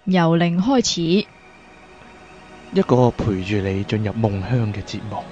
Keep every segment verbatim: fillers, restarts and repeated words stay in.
由零開始， 一個陪住你進入夢鄉嘅節目。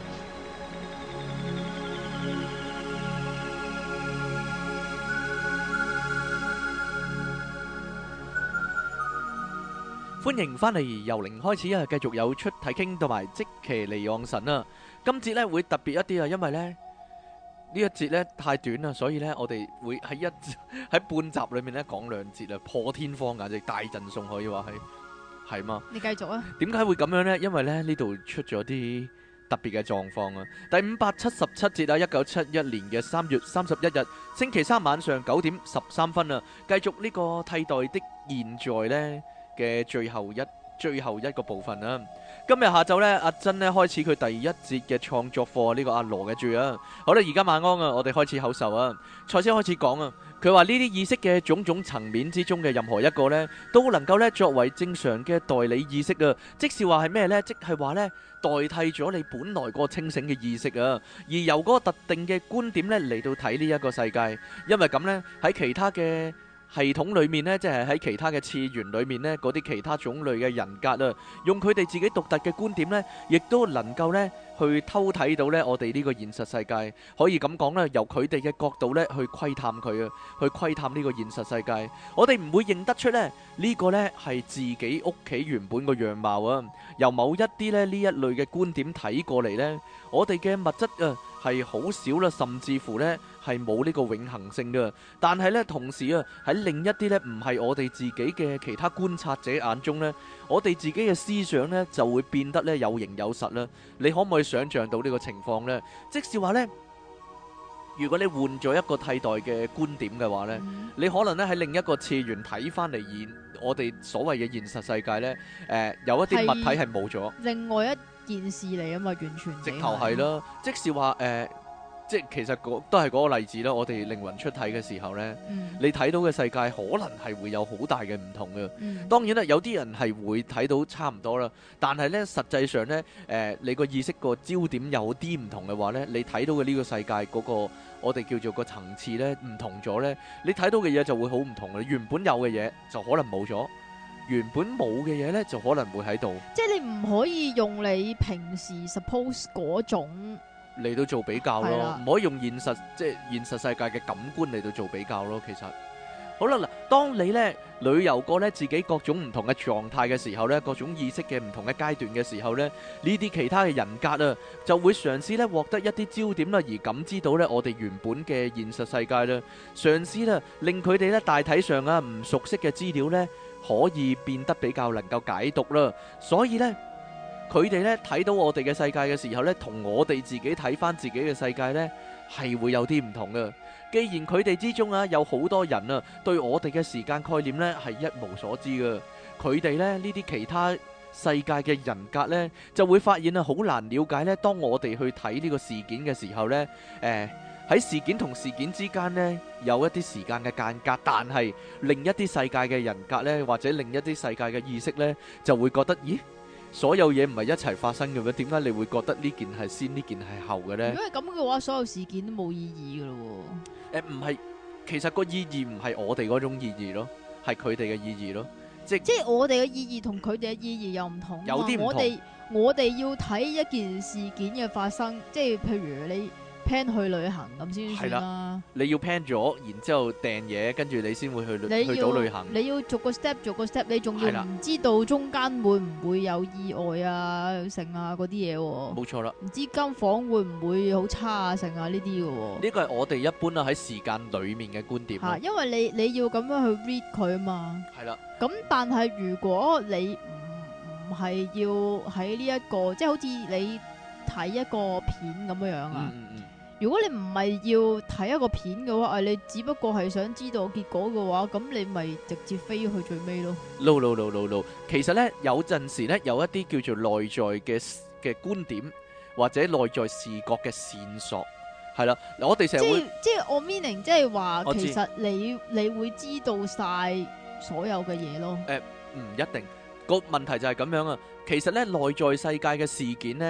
歡迎翻嚟由零開始啊！繼續有出體傾同埋即其離岸神啊！今節咧會特別一啲啊，因為咧呢一節咧太短啦，所以咧我哋會喺一喺半集裏面咧講兩節啊，破天荒簡直大贈送可以話係係嘛？ 你繼續啊！ 點解會咁樣呢？因為咧呢度出咗啲特別嘅狀況啊！第五百七十七節啊，一九七一年嘅三月三十一日星期三晚上九點十三分啊，繼續呢個替代的現在呢嘅最後一最後一個部分啦。今日下晝呢，阿珍呢開始佢第一節嘅創作課，呢個阿羅嘅注啊。好啦，而家晚安啊，我哋開始口授啊。賽斯開始講啊，佢話呢啲意識嘅種種層面之中嘅任何一個呢，都能夠呢作為正常嘅代理意識啊。即是話係咩呢？即係話呢，代替咗你本來個清醒嘅意識啊，而由嗰個特定嘅觀點呢嚟到睇呢一個世界。因為咁呢，喺其他嘅系統裏面呢，即係喺其他嘅次元裏面呢，嗰啲其他種類嘅人格啊，用佢哋自己獨特嘅觀點呢，亦都能夠呢去偷睇到呢我哋呢個現實世界。可以咁講啦，由佢哋嘅角度呢去窺探佢啊，去窺探呢個現實世界。我哋唔會認得出呢呢個呢係自己屋企原本個樣貌啊。由某一啲呢呢一類嘅觀點睇過嚟呢，我哋嘅物質啊係好少啦，甚至乎呢係冇呢個永恆性嘅。但係呢，同時啊喺另一啲呢唔係我哋自己嘅其他觀察者眼中呢，我哋自己嘅思想呢就會變得呢有形有實啦。你可唔可以想象到呢個情況呢？即是話呢，如果你換咗一個替代嘅觀點嘅話呢， 嗯你可能呢喺另一個次元睇翻嚟現我哋所謂嘅現實世界呢，誒有一啲物體係冇咗。 另外一件事嚟啊嘛，完全直頭係啦，即是話誒，即係其實嗰都係嗰個例子啦。我哋靈魂出體嘅時候呢， 嗯你睇到嘅世界可能係會有好大嘅唔同嘅。 嗯當然啦，有啲人係會睇到差唔多啦，但係呢，實際上呢，誒你個意識個焦點有啲唔同嘅話呢，你睇到嘅呢個世界嗰個我哋叫做個層次呢唔同咗呢，你睇到嘅嘢就會好唔同嘅。原本有嘅嘢就可能冇咗，原本冇嘅嘢呢就可能會喺度。 即係你唔可以用你平時 suppose 嗰種嚟到做比較咯， 係啦唔可以用現實即係現實世界嘅感官嚟到做比較咯。其實好啦，嗱，當你呢旅遊過呢自己各種唔同嘅狀態嘅時候呢，各種意識嘅唔同嘅階段嘅時候呢，呢啲其他嘅人格啊，就會嘗試呢獲得一啲焦點啦，而感知到呢我哋原本嘅現實世界啦，嘗試啦令佢哋呢大體上啊唔熟悉嘅資料呢可以變得比較能夠解讀啦，所以呢。佢哋咧睇到我哋嘅世界嘅時候咧，同我哋自己睇翻自己嘅世界呢，係會有啲唔同嘅。既然佢哋之中啊有好多人啊對我哋嘅時間概念呢係一無所知嘅，佢哋咧呢啲其他世界嘅人格呢，就會發現啊好難了解呢。當我哋去睇呢個事件嘅時候呢，誒喺事件同事件之間呢，有一啲時間嘅間隔，但係另一啲世界嘅人格呢，或者另一啲世界嘅意識呢，就會覺得咦？所有嘢唔係一齊發生嘅咩？點解你會覺得呢件係先，呢件係後嘅呢？ 如果係咁嘅話，所有事件都冇意義噶咯誒唔係，其實個意義唔係我哋嗰種意義咯，係佢哋嘅意義咯。即喎。即係我哋嘅意義同佢哋嘅意義又唔同啊嘛。 有啲唔同我哋我哋要睇一件事件嘅發生，即係譬如你 plan 去旅行咁先算啦。 你要 plan 咗，然之後訂嘢，跟住你先會去你去到旅行。 你要逐個 step 逐個 step，你仲係啦要唔知道中間會唔會有意外啊、剩啊嗰啲嘢喎。 冇錯啦， 唔知間房會唔會好差啊、剩啊呢啲嘅喎。 呢個係我哋一般啦喺時間裡面嘅觀點嚇， 啦。 因為你你要咁樣去 read 佢啊嘛。 係啦， 咁但係如果你唔唔係要喺呢一個，即係好似你睇一個片咁樣樣啊。 嗯嗯嗯， 如果你唔係要睇一個片嘅話，啊你只不過係想知道結果嘅話，咁你咪直接飛去最尾咯。 no no no no no，其實呢，有陣時呢，有一啲叫做內在嘅嘅觀點或者內在視覺嘅線索，係啦，我哋成即係日會即係我 meaning 即係話， 我知其實你你會知道晒所有嘅嘢咯。 唔一定，個問題就係咁樣啊。其實呢，內在世界嘅事件呢，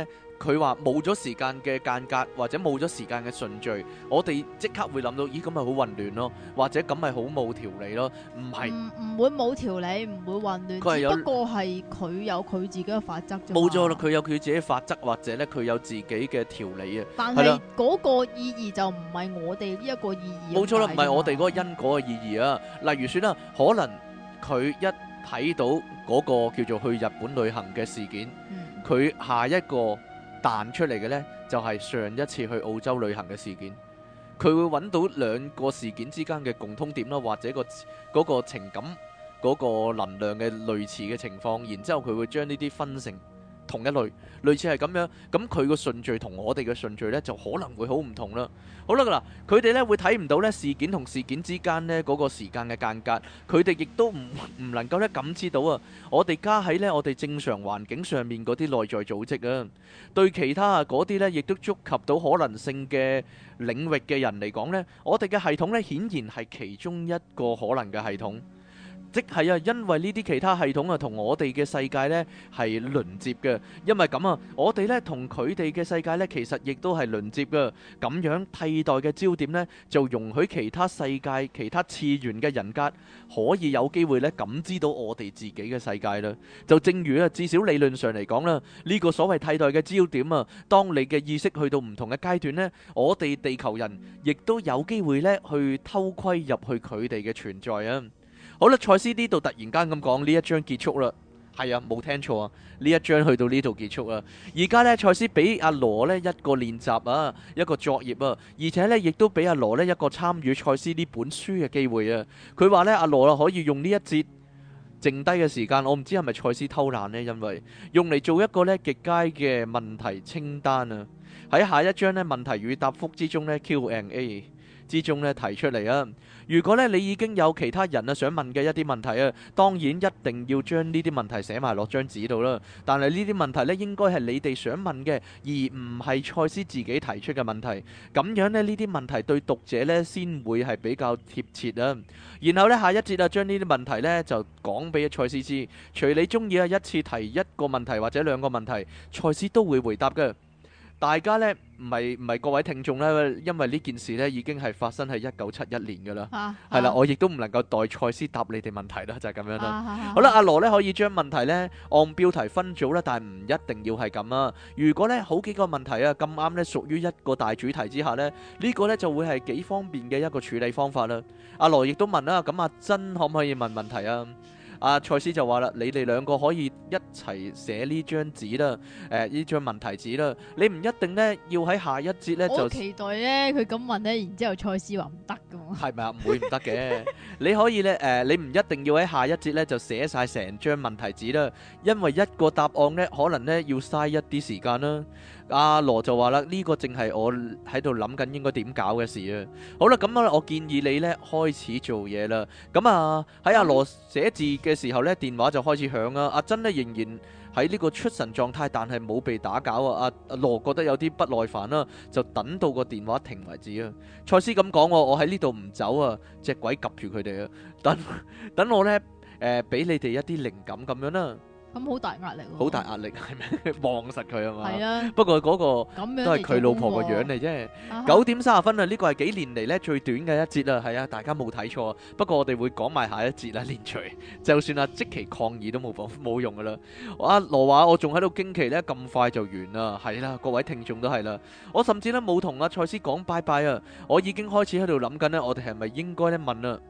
佢話冇咗時間嘅間隔，或者冇咗時間嘅順序，我哋即刻會諗到，咦咁咪好混亂咯，或者咁咪好冇條理咯？唔係， 唔唔會冇條理，唔會混亂， 佢係有只不過係佢有佢自己嘅法則啫嘛。 冇錯啦，佢有佢自己嘅法則，或者咧佢有自己嘅條理啊。 但係係啦嗰個意義就唔係我哋呢一個意義。 冇錯啦，唔係我哋嗰個因。 因果嘅意義啊。例如說啦，可能佢一睇到嗰個叫做去日本旅行嘅事件， 嗯佢下一個彈出嚟嘅呢，就係上一次去澳洲旅行嘅事件。佢會揾到兩個事件之間嘅共通點啦，或者個嗰個情感嗰個能量嘅類似嘅情況，然之後佢會將呢啲分成同一類，類似係咁樣。咁佢個順序同我哋嘅順序呢，就可能會好唔同啦。好啦，嗱，佢哋呢會睇唔到呢事件同事件之間呢嗰個時間嘅間隔，佢哋亦都唔唔能夠呢感知到啊。我哋加喺呢我哋正常環境上面嗰啲內在組織啊，對其他啊嗰啲呢亦都觸及到可能性嘅領域嘅人嚟講呢，我哋嘅系統呢顯然係其中一個可能嘅系統。即係啊，因為呢啲其他系統啊，同我哋嘅世界呢係鄰接嘅。因為咁啊，我哋呢同佢哋嘅世界呢，其實亦都係鄰接嘅。咁樣替代嘅焦點呢，就容許其他世界、其他次元嘅人格可以有機會呢感知到我哋自己嘅世界啦。就正如啊，至少理論上嚟講啦，呢個所謂替代嘅焦點啊，當你嘅意識去到唔同嘅階段呢，我哋地球人亦都有機會呢去偷窺入去佢哋嘅存在啊。好啦，賽斯呢度突然間咁講，呢一章結束啦。係啊，冇聽錯啊，呢一章去到呢度結束啊。而家呢，賽斯俾阿羅呢一個練習啊，一個作業啊，而且呢亦都俾阿羅呢一個參與賽斯呢本書嘅機會啊。佢話呢，阿羅啊可以用呢一節剩低嘅時間，我唔知係咪賽斯偷懶呢，因為用嚟做一個呢極佳嘅問題清單啊。喺下一章呢，問題與答覆之中呢 Q and A 之中呢提出嚟啊。如果咧你已經有其他人啊想問嘅一啲問題啊，當然一定要將呢啲問題寫埋落張紙度啦。但係呢啲問題咧應該係你哋想問嘅，而唔係賽斯自己提出嘅問題。咁樣咧呢啲問題對讀者咧先會係比較貼切啊。然後咧下一節啊，將呢啲問題咧就講俾賽斯知，隨你中意啊，一次提一個問題或者兩個問題，賽斯都會回答嘅。大家呢，唔係唔係各位聽眾呢，因為呢件事呢已經係發生喺一九七一年噶啦，係啦、啊，我亦都唔能夠代賽斯答你哋問題啦，就係、是、咁樣啦。啊啊、好啦，阿羅呢可以將問題呢按標題分組啦，但係唔一定要係咁啊。如果呢好幾個問題啊咁啱呢屬於一個大主題之下呢，呢、這個呢就會係幾方便嘅一個處理方法啦。阿羅亦都問啦，咁阿珍可唔可以問問題啊？阿賽斯就話啦，你哋兩個可以一齊寫呢張紙啦，誒呢張問題紙啦，你唔一定呢要喺下一節呢就。我期待呢，佢咁問呢，然之後賽斯話唔得噶嘛。係咪啊？唔會唔得嘅，你可以呢，誒、呃，你唔一定要喺下一節呢就寫晒成張問題紙啦，因為一個答案呢可能呢要嘥一啲時間啦。阿羅就話啦，呢個正係我喺度諗緊應該點搞嘅事啊。好啦，咁啊，我建議你呢開始做嘢啦。咁啊喺阿羅寫字嘅時候呢，電話就開始響啊。阿珍呢仍然喺呢個出神狀態，但係冇被打攪啊。阿阿羅覺得有啲不耐煩啦，就等到個電話停為止啊。賽斯咁講，我喺呢度唔走啊，隻鬼及住佢哋啊。等等我呢，誒俾你哋一啲靈感咁樣啦。 咁好大壓力喎！ 好大壓力係咩？望實佢啊嘛。係啊。 不過嗰個都係佢老婆個樣嚟啫。九點三十分啊！呢個係幾年嚟咧最短嘅一節啊。係啊，大家冇睇錯。不過我哋會講埋下一節啦，連隨。就算啊即期抗議都冇冇用噶啦。阿羅話我仲喺度驚奇咧，咁快就完啦。係啦，各位聽眾都係啦。我甚至咧冇同阿賽斯講拜拜啊。我已經開始喺度諗緊咧，我哋係咪應該咧問啊？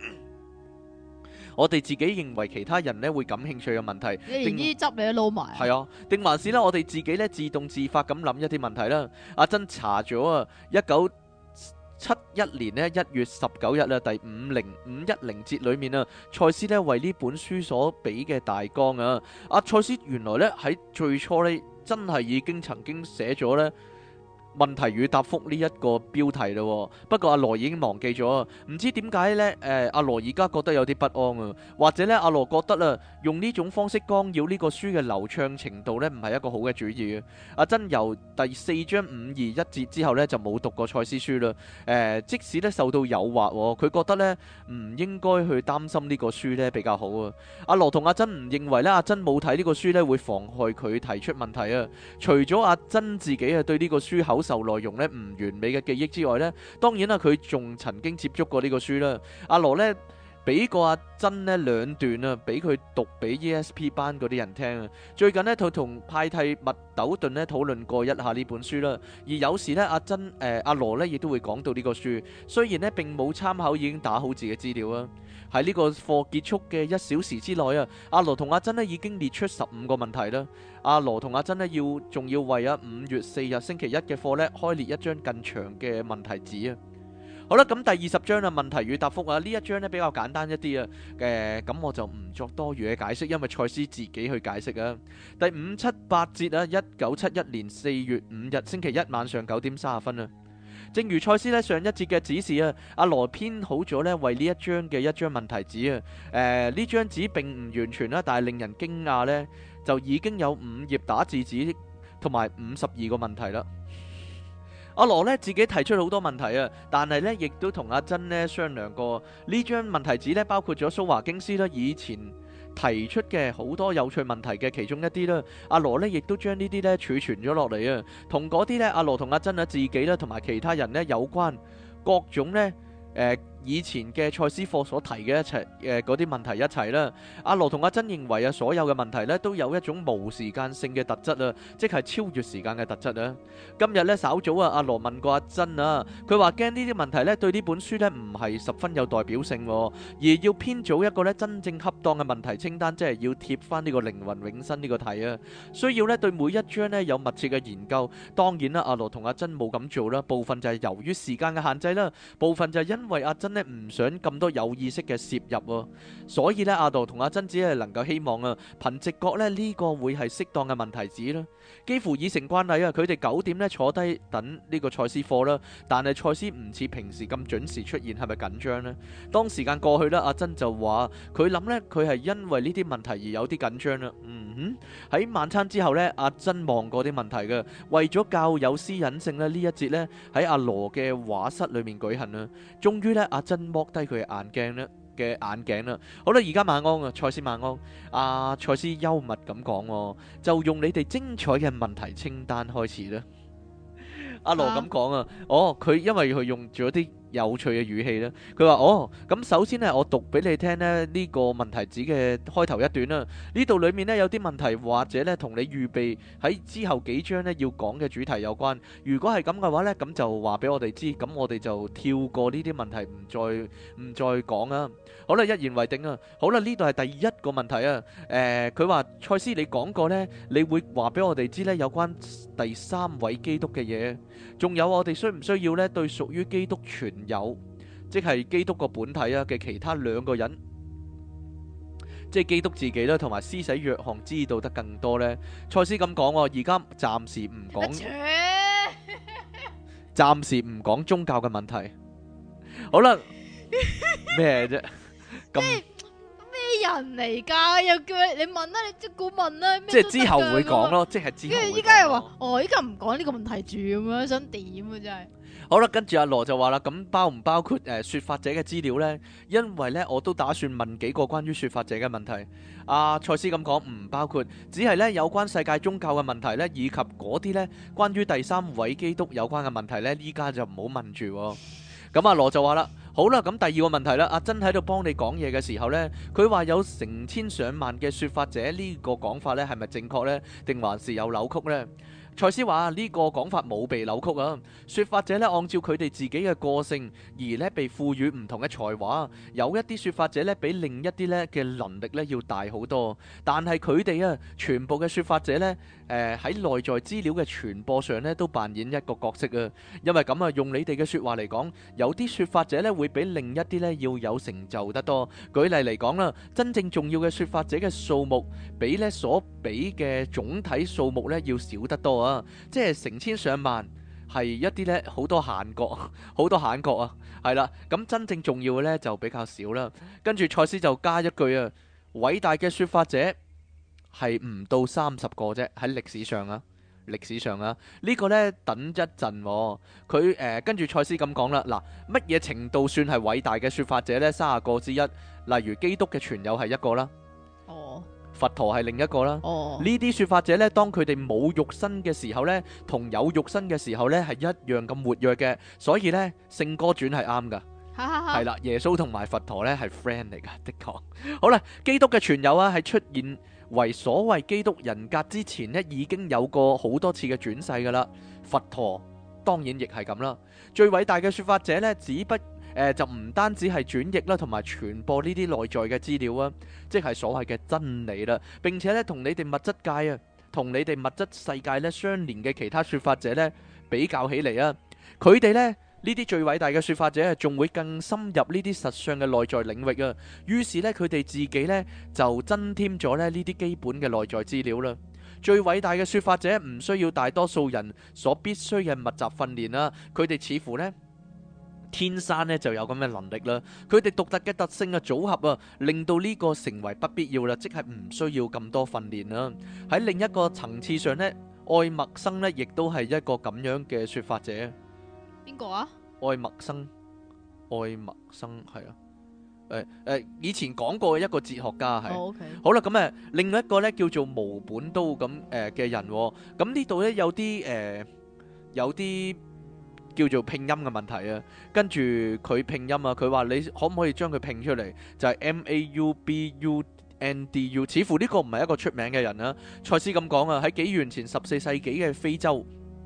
我哋自己認為其他人咧會感興趣嘅問題， 你連呢啲汁你都撈埋。 係啊，定還是咧我哋自己咧自動自發咁諗一啲問題啦。阿珍查咗啊，一九七一年咧一月十九日啊，第五零五一零節裏面啊，賽斯咧為呢本書所俾嘅大綱啊，阿賽斯原來咧喺最初咧真係已經曾經寫咗咧問題與答覆呢一個標題咯，不過阿羅已經忘記咗，唔知點解呢？誒，阿羅而家覺得有啲不安啊，或者呢，阿羅覺得啊，用呢種方式干擾呢個書嘅流暢程度呢，唔係一個好嘅主意啊。阿珍由第四章五二一節之後呢，就冇讀過賽斯書啦。誒，即使呢受到誘惑，佢覺得呢唔應該去擔心呢個書呢比較好啊。阿羅同阿珍唔認為呢，阿珍冇睇呢個書呢會妨害佢提出問題啊。除咗阿珍自己啊對呢個書口受內容咧唔完美嘅記憶之外呢，當然啦，佢仲曾經接觸過呢個書啦。阿羅呢俾過阿珍呢兩段啊，俾佢讀俾 E S P 班嗰啲人聽啊。最近呢，佢同派蒂麥斗頓呢討論過一下呢本書啦。而有時呢，阿珍誒、呃、阿羅呢亦都會講到呢個書，雖然呢並冇參考，已經打好自己資料啊。喺呢個課結束嘅一小時之內啊，阿羅同阿珍呢已經列出十五個問題啦。阿羅同阿珍呢要仲要為啊五月四日星期一嘅課呢開列一張更長嘅問題紙啊。好啦，咁第二十章啊，問題與答覆啊，呢一章呢比較簡單一啲啊。誒，咁我就唔作多餘嘅解釋，因為賽斯自己去解釋啊。第五七八節啊，一九七一年四月五日星期一晚上九點三十分啊。正如賽斯呢上一節嘅指示啊，阿羅編好咗呢為呢一章嘅一張問題紙啊。誒，呢張紙並唔完全啦，但係令人驚訝呢，就已經有五頁打字紙同埋五十二個問題啦。阿羅呢自己提出好多問題啊，但係呢亦都同阿珍呢商量過。呢張問題紙呢包括咗蘇華京斯啦以前提出嘅好多有趣問題嘅其中一啲啦。阿羅呢亦都將呢啲呢儲存咗落嚟啊，同嗰啲呢阿羅同阿珍啊自己啦同埋其他人呢有關各種呢。誒、呃、以前嘅賽斯課所提嘅一齊誒嗰啲問題一齊啦。阿羅同阿珍認為啊，所有嘅問題呢都有一種無時間性嘅特質啊，即係超越時間嘅特質啊。今日呢，稍早啊，阿羅問過阿珍啊，佢話驚呢啲問題呢對呢本書呢唔係十分有代表性，而要編組一個呢真正恰當嘅問題清單，即係要貼翻呢個靈魂永生呢個題啊。需要呢對每一章呢有密切嘅研究。當然啦，阿羅同阿珍冇咁做啦，部分就係由於時間嘅限制啦，部分就係因因為阿珍呢唔想咁多有意識嘅攝入啊，所以呢阿羅同阿珍只係能夠希望啊，憑直覺呢呢個會係適當嘅問題紙啦。幾乎已成慣例啊，佢哋九點呢坐低等呢個賽斯課啦，但係賽斯唔似平時咁準時出現，係咪緊張呢？當時間過去啦，阿珍就話佢諗呢，佢係因為呢啲問題而有啲緊張啦。嗯哼，喺晚餐之後呢，阿珍望過啲問題嘅，為咗較有私隱性呢，呢一節呢喺阿羅嘅畫室裏面舉行啦。終於咧，阿珍剝低佢嘅眼鏡咧嘅眼鏡啦。好啦，而家晚安啊，賽斯晚安。阿賽斯幽默咁講，就用你哋精彩嘅問題清單開始啦。阿羅咁講啊，哦，佢因為佢用咗啲有趣嘅語氣咧，佢話哦，咁首先呢，我讀俾你聽咧呢個問題紙嘅開頭一段啦。呢度裡面呢，有啲問題或者呢同你預備喺之後幾章呢要講嘅主題有關。如果係咁嘅話呢，咁就話俾我哋知，咁我哋就跳過呢啲問題，唔再唔再講啊。好啦，一言為定啊。好啦，呢度係第一個問題啊。誒，佢話賽斯，你講過呢，你會話俾我哋知呢有關第三位基督嘅嘢。仲有我哋需唔需要呢對屬於基督存有，即係基督個本體啊嘅其他兩個人，即係基督自己啦，同埋施洗約翰知道得更多呢？賽斯咁講，而家暫時唔講，暫時唔講宗教嘅問題。好啦，咩啫？咁咩人嚟噶？又叫你你問啦，你即管問啦。 即係之後會講咯，即係之後。 跟住依家又話，哦，依家唔講呢個問題住咁樣，想點啊？真係。 好啦，跟住阿羅就話啦，咁包唔包括誒說法者嘅資料呢？因為呢，我都打算問幾個關於說法者嘅問題。阿賽斯咁講唔包括，只係呢有關世界宗教嘅問題呢，以及嗰啲呢關於第三位基督有關嘅問題呢，依家就唔好問住。咁阿羅就話啦，好啦，咁第二個問題啦，阿珍喺度幫你講嘢嘅時候呢，佢話有成千上萬嘅說法者，呢個講法呢係咪正確呢？定還是有扭曲呢？賽斯話呢個講法冇被扭曲啊，說法者呢按照佢哋自己嘅個性而呢被賦予唔同嘅才華，有一啲說法者呢比另一啲呢嘅能力呢要大好多，但係佢哋啊全部嘅說法者呢誒喺內在資料嘅傳播上呢都扮演一個角色啊，因為咁啊用你哋嘅說話嚟講，有啲說法者呢會比另一啲呢要有成就得多。舉例嚟講啦，真正重要嘅說法者嘅數目比呢所比嘅總體數目呢要少得多啊。即係成千上萬係一啲咧好多閒角，好多閒角啊，係啦。咁真正重要嘅咧就比較少啦。跟住賽斯就加一句啊，偉大嘅説法者係唔到三十個啫，喺歷史上啊。歷史上啊，呢、這個呢，等一陣、哦，佢誒、呃、跟住賽斯咁講啦，嗱，乜嘢程度算係偉大嘅説法者呢？三十個之一，例如基督嘅傳友係一個啦， 哦， 佛陀係另一個啦， 哦， 呢啲説法者呢，當佢哋冇肉身嘅時候呢，同有肉身嘅時候呢，係一樣咁活躍嘅，所以呢，聖歌傳係啱噶，係啦，耶穌同埋佛陀呢係 friend 嚟噶，的確，好啦，基督嘅傳友啊係出現為所謂基督人格之前呢，已經有過好多次嘅轉世噶啦。佛陀當然亦係咁啦。最偉大嘅說法者呢，只不誒、呃、就唔單止係轉譯啦，同埋傳播呢啲內在嘅資料啊，即係所謂嘅真理啦。並且呢，同你哋物質界啊，同你哋物質世界呢相連嘅其他說法者呢，比較起嚟啊，佢哋呢。呢啲最偉大嘅説法者仲會更深入呢啲實相嘅內在領域啊！於是呢，佢哋自己呢就增添咗咧呢啲基本嘅內在資料啦。最偉大嘅説法者唔需要大多數人所必須嘅密集訓練啦，佢哋似乎呢天生呢就有咁嘅能力啦。佢哋獨特嘅特性嘅組合啊，令到呢個成為不必要啦，即係唔需要咁多訓練啦。喺另一個層次上呢，愛默生呢亦都係一個咁樣嘅説法者。 邊個啊？ 愛默生，愛默生係啊，誒誒，以前講過嘅一個哲學家係。 Oh, okay. 好啦，咁誒，另一個咧叫做毛本都咁誒嘅人，咁呢度咧有啲誒，有啲叫做拼音嘅問題啊。跟住佢拼音啊，佢話你可唔可以將佢拼出嚟？就係 M A U B U N D U， 似乎呢個唔係一個出名嘅人啊。賽斯咁講啊，喺紀元前十四世紀嘅非洲。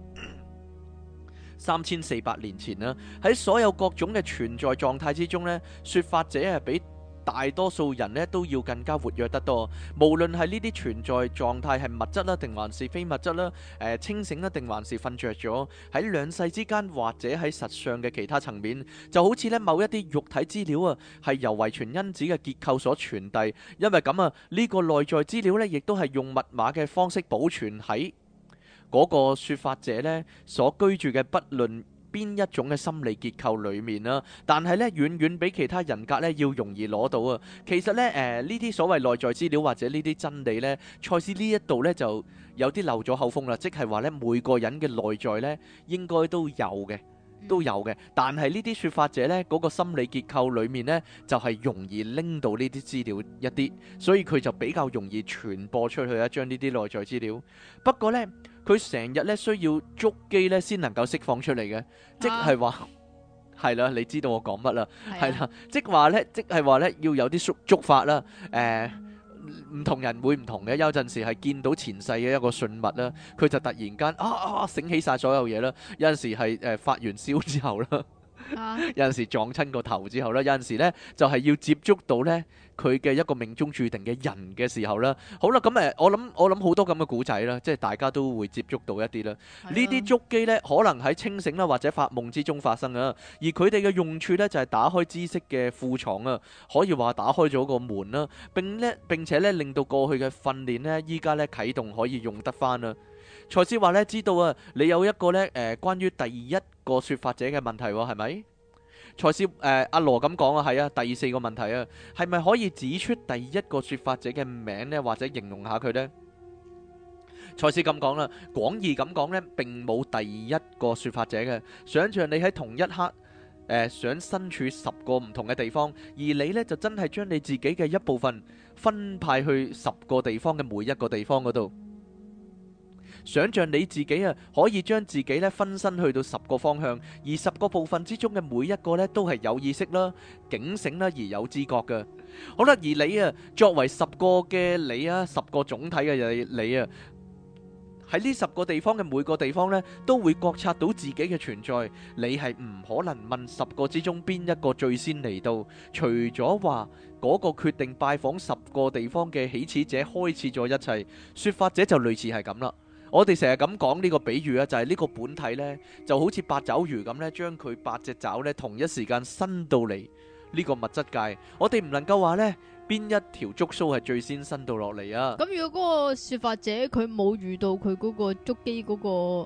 三千四百年前啦，喺所有各種嘅存在狀態之中呢，說法者係比大多數人呢都要更加活躍得多。無論係呢啲存在狀態係物質啦，定還是非物質啦，誒、呃、清醒啦，定還是瞓着咗，喺兩世之間或者喺實相嘅其他層面，就好似呢某一啲肉體資料啊，係由遺傳因子嘅結構所傳遞。因為咁啊，呢、這個內在資料呢，亦都係用密碼嘅方式保存喺嗰個説法者呢所居住嘅不論邊一種嘅心理結構裡面啦，但係呢遠遠比其他人格呢要容易攞到啊。其實呢誒呢啲所謂內在資料或者呢啲真理呢，賽斯呢一度呢就有啲漏咗口風啦，即係話呢每個人嘅內在呢應該都有嘅。都有嘅，但係呢啲説法者呢，嗰、那個心理結構裡面呢，就係、是、容易拎到呢啲資料一啲，所以佢就比較容易傳播出去一張呢啲內在資料。不過呢，佢成日呢需要觸機呢先能夠釋放出嚟嘅，即係話係啦，你知道我講乜啦？係啦、啊，即係話呢，即係話呢，要有啲觸觸發啦，誒、呃。唔同人會唔同嘅，有陣時係見到前世嘅一個信物啦，佢就突然間啊啊醒起晒所有嘢啦，有陣時係誒、呃、發完燒之後啦。啊、有陣時撞親個頭之後咧，有陣時咧就係要接觸到咧佢嘅一個命中注定嘅人嘅時候啦。好啦，咁誒，我諗我諗好多咁嘅古仔啦，即係大家都會接觸到一啲啦。呢啲觸機咧，可能喺清醒啦或者發夢之中發生啊。而佢哋嘅用處咧就係打開知識嘅庫藏啊，可以話打開咗個門啦。並咧並且咧令到過去嘅訓練咧，依家咧啟動可以用得翻啦。賽斯話咧，知道啊，你有一個咧誒、呃，關於第一個說法者嘅問題喎，係咪？賽斯誒阿羅咁講啊，係啊，第四個問題啊，係咪可以指出第一個說法者嘅名呢？或者形容下佢呢？賽斯咁講啦，廣義咁講呢，並冇第一個說法者嘅。想像你喺同一刻誒、呃，想身處十個唔同嘅地方，而你呢，就真係將你自己嘅一部分分派去十個地方嘅每一個地方嗰度。想像你自己啊，可以將自己咧分身去到十個方向，而十個部分之中嘅每一個咧都係有意識啦、警醒啦而有知覺嘅。好啦，而你啊，作為十個嘅你啊，十個總體嘅你啊，喺呢十個地方嘅每個地方咧，都會覺察到自己嘅存在。你係唔可能問十個之中邊一個最先嚟到，除咗話嗰個決定拜訪十個地方嘅起始者開始咗一切。說法者就類似係咁啦。我哋成日咁講呢個比喻啊，就係呢個本體呢，就好似八爪魚咁呢，將佢八隻爪呢同一時間伸到嚟呢個物質界。我哋唔能夠話呢邊一條觸鬚係最先伸到落嚟啊。 咁如果嗰個說法者佢冇遇到佢嗰個觸機嗰個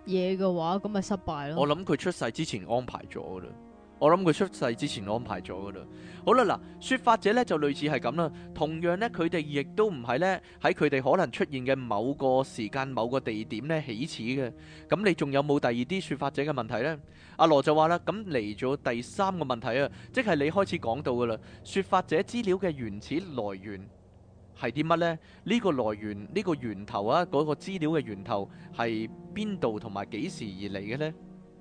嘢嘅話，咁咪失敗咯。 我諗佢出世之前安排咗噶啦，我諗佢出世之前安排咗噶啦。好啦，嗱，說法者咧就類似係咁啦，同樣咧佢哋亦都唔係咧喺佢哋可能出現嘅某個時間、某個地點咧起始嘅。咁你仲有冇第二啲說法者嘅問題呢？阿羅就話啦，咁嚟咗第三個問題啊，即係你開始講到噶啦，說法者資料嘅原始來源係啲乜呢？呢個來源，呢個源頭啊，嗰個資料嘅源頭係邊度同埋幾時而嚟嘅呢？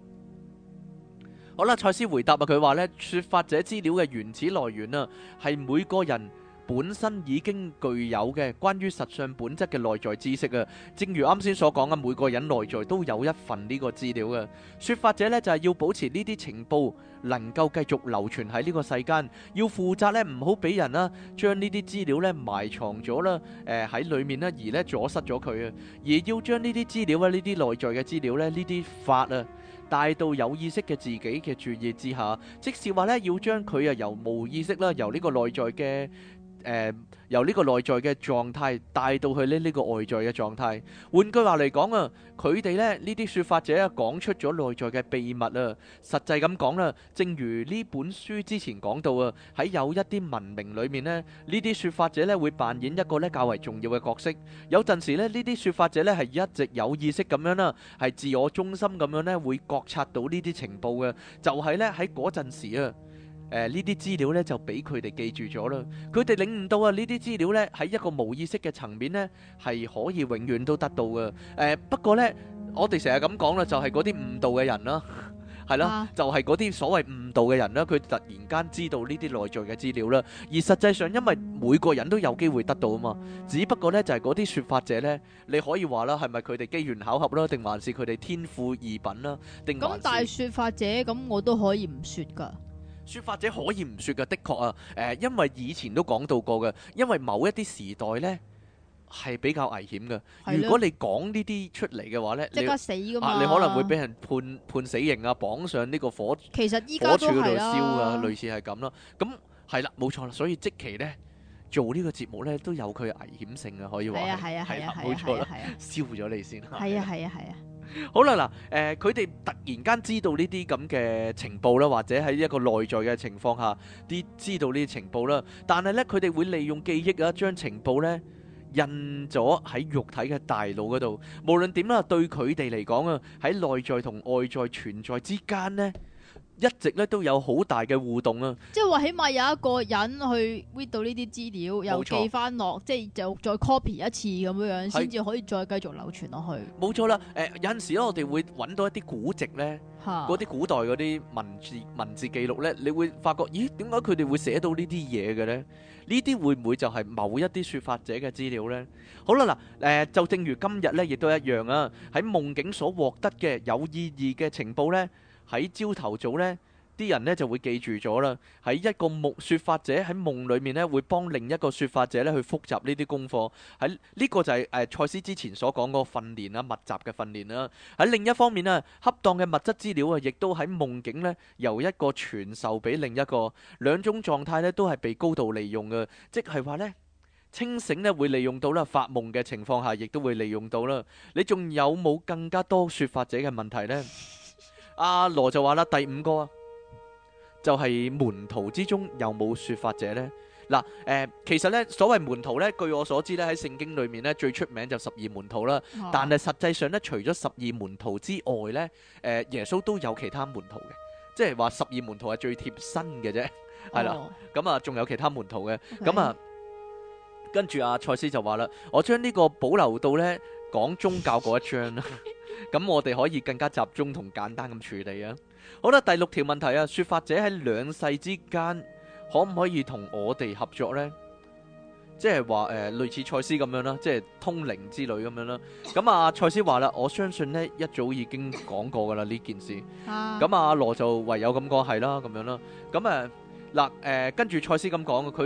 好啦，賽斯回答啊，佢話呢，說法者資料嘅原始來源啊，係每個人本身已經具有嘅關於實相本質嘅內在知識啊。正如啱先所講啊，每個人內在都有一份呢個資料嘅。說法者呢，就係要保持呢啲情報能夠繼續流傳喺呢個世間，要負責呢，唔好俾人啦將呢啲資料呢埋藏咗啦，誒喺裏面呢，而呢阻塞咗佢啊，而要將呢啲資料啊，呢啲內在嘅資料呢，呢啲法啊，帶到有意識嘅自己嘅注意之下，即是話咧，要將佢啊由無意識啦，由呢個內在嘅誒、呃，由呢個內在嘅狀態帶到去呢呢個外在嘅狀態。換句話嚟講啊，佢哋咧呢啲說法者啊講出咗內在嘅秘密啊。實際咁講啦，正如呢本書之前講到啊，喺有一啲文明裏面呢，呢啲說法者咧會扮演一個咧較為重要嘅角色。有陣時咧，呢啲說法者咧係一直有意識咁樣啦，係自我中心咁樣咧會覺察到呢啲情報嘅，就係咧喺嗰陣時啊。誒呢啲資料咧就俾佢哋記住咗啦，佢哋領悟到啊呢啲資料咧喺一個無意識嘅層面咧係可以永遠都得到嘅。誒、呃、不過咧，我哋成日咁講啦，就係嗰啲誤導嘅人啦，係啦， 啊、 就係嗰啲所謂誤導嘅人啦，佢突然間知道呢啲內在嘅資料啦，而實際上因為每個人都有機會得到啊嘛，只不過咧就係嗰啲説法者咧，你可以話啦，係咪佢哋機緣巧合啦，定還是佢哋天賦異稟啦，定還是？咁但係説法者咁我都可以唔説㗎。 說法者可以唔說嘅，的確啊，誒、呃，因為以前都講到過嘅，因為某一啲時代呢係比較危險嘅。如果你講呢啲出嚟嘅話呢， 即刻死噶嘛、 啊，你可能會俾人判判死刑啊，綁上呢個火其實依家都係啦， 火柱嗰度燒啊，類似係咁咯。咁係啦，冇錯啦，所以即期呢做呢個節目呢都有佢嘅危險性啊，可以話係啊係啊係啊，冇錯啦，燒咗你先。 係啊係啊係啊。 好啦，嗱，誒，佢哋突然間知道呢啲咁嘅情報啦，或者喺一個內在嘅情況下，啲知道呢啲情報啦，但係咧，佢哋會利用記憶啊，將情報咧印咗喺肉體嘅大腦嗰度。無論點啦，對佢哋嚟講啊，喺內在同外在存在之間咧，一直咧都有好大嘅互動啊！ 即係話，起碼有一個人去 read 到呢啲資料，又記翻落，即係就再 copy 一次咁樣樣，先至可以再繼續流傳落去。冇錯啦，誒、呃、有陣時咧，我哋會揾到一啲古籍咧，嗰啲古代嗰啲文字文字記錄咧，你會發覺，咦，點解佢哋會寫到呢啲嘢嘅咧？呢啲會唔會就係某一啲説法者嘅資料咧？好啦，嗱、呃，誒就正如今日咧，亦都一樣啊！喺夢境所獲得嘅有意義嘅情報咧。喺朝頭早呢啲人呢就會記住咗啦。喺一個夢説法者喺夢裡面呢，會幫另一個説法者呢去複習呢啲功課。喺呢、這個就係誒賽斯之前所講嗰個訓練啦，密集嘅訓練啦。喺另一方面啊，恰當嘅物質資料啊，亦都喺夢境呢由一個傳授俾另一個，兩種狀態呢都係被高度利用嘅，即係話呢，清醒呢會利用到啦，發夢嘅情況下亦都會利用到啦。你仲有冇更加多説法者嘅問題呢？阿羅就話啦，第五個啊，就係門徒之中有冇說法者呢？嗱，誒，其實呢，所謂門徒呢，據我所知呢，喺聖經裏面呢，最出名就十二門徒啦。但係實際上呢，除咗十二門徒之外呢，誒，耶穌都有其他門徒嘅，即係話十二門徒係最貼身嘅啫，係啦。咁啊，仲有其他門徒嘅，咁啊，跟住阿賽斯就話啦，我將呢個保留到呢講宗教嗰一章啦。咁我哋可以更加集中同簡單咁處理啊！好啦，第六條問題啊，說法者喺兩世之間可唔可以同我哋合作呢？即係話誒，類似賽斯咁樣啦，即係通靈之類咁樣啦。咁啊，賽斯話啦，我相信呢一早已經講過噶啦呢件事。咁啊，阿羅就唯有咁講係啦，咁樣啦。咁誒嗱誒，跟住賽斯咁講嘅，佢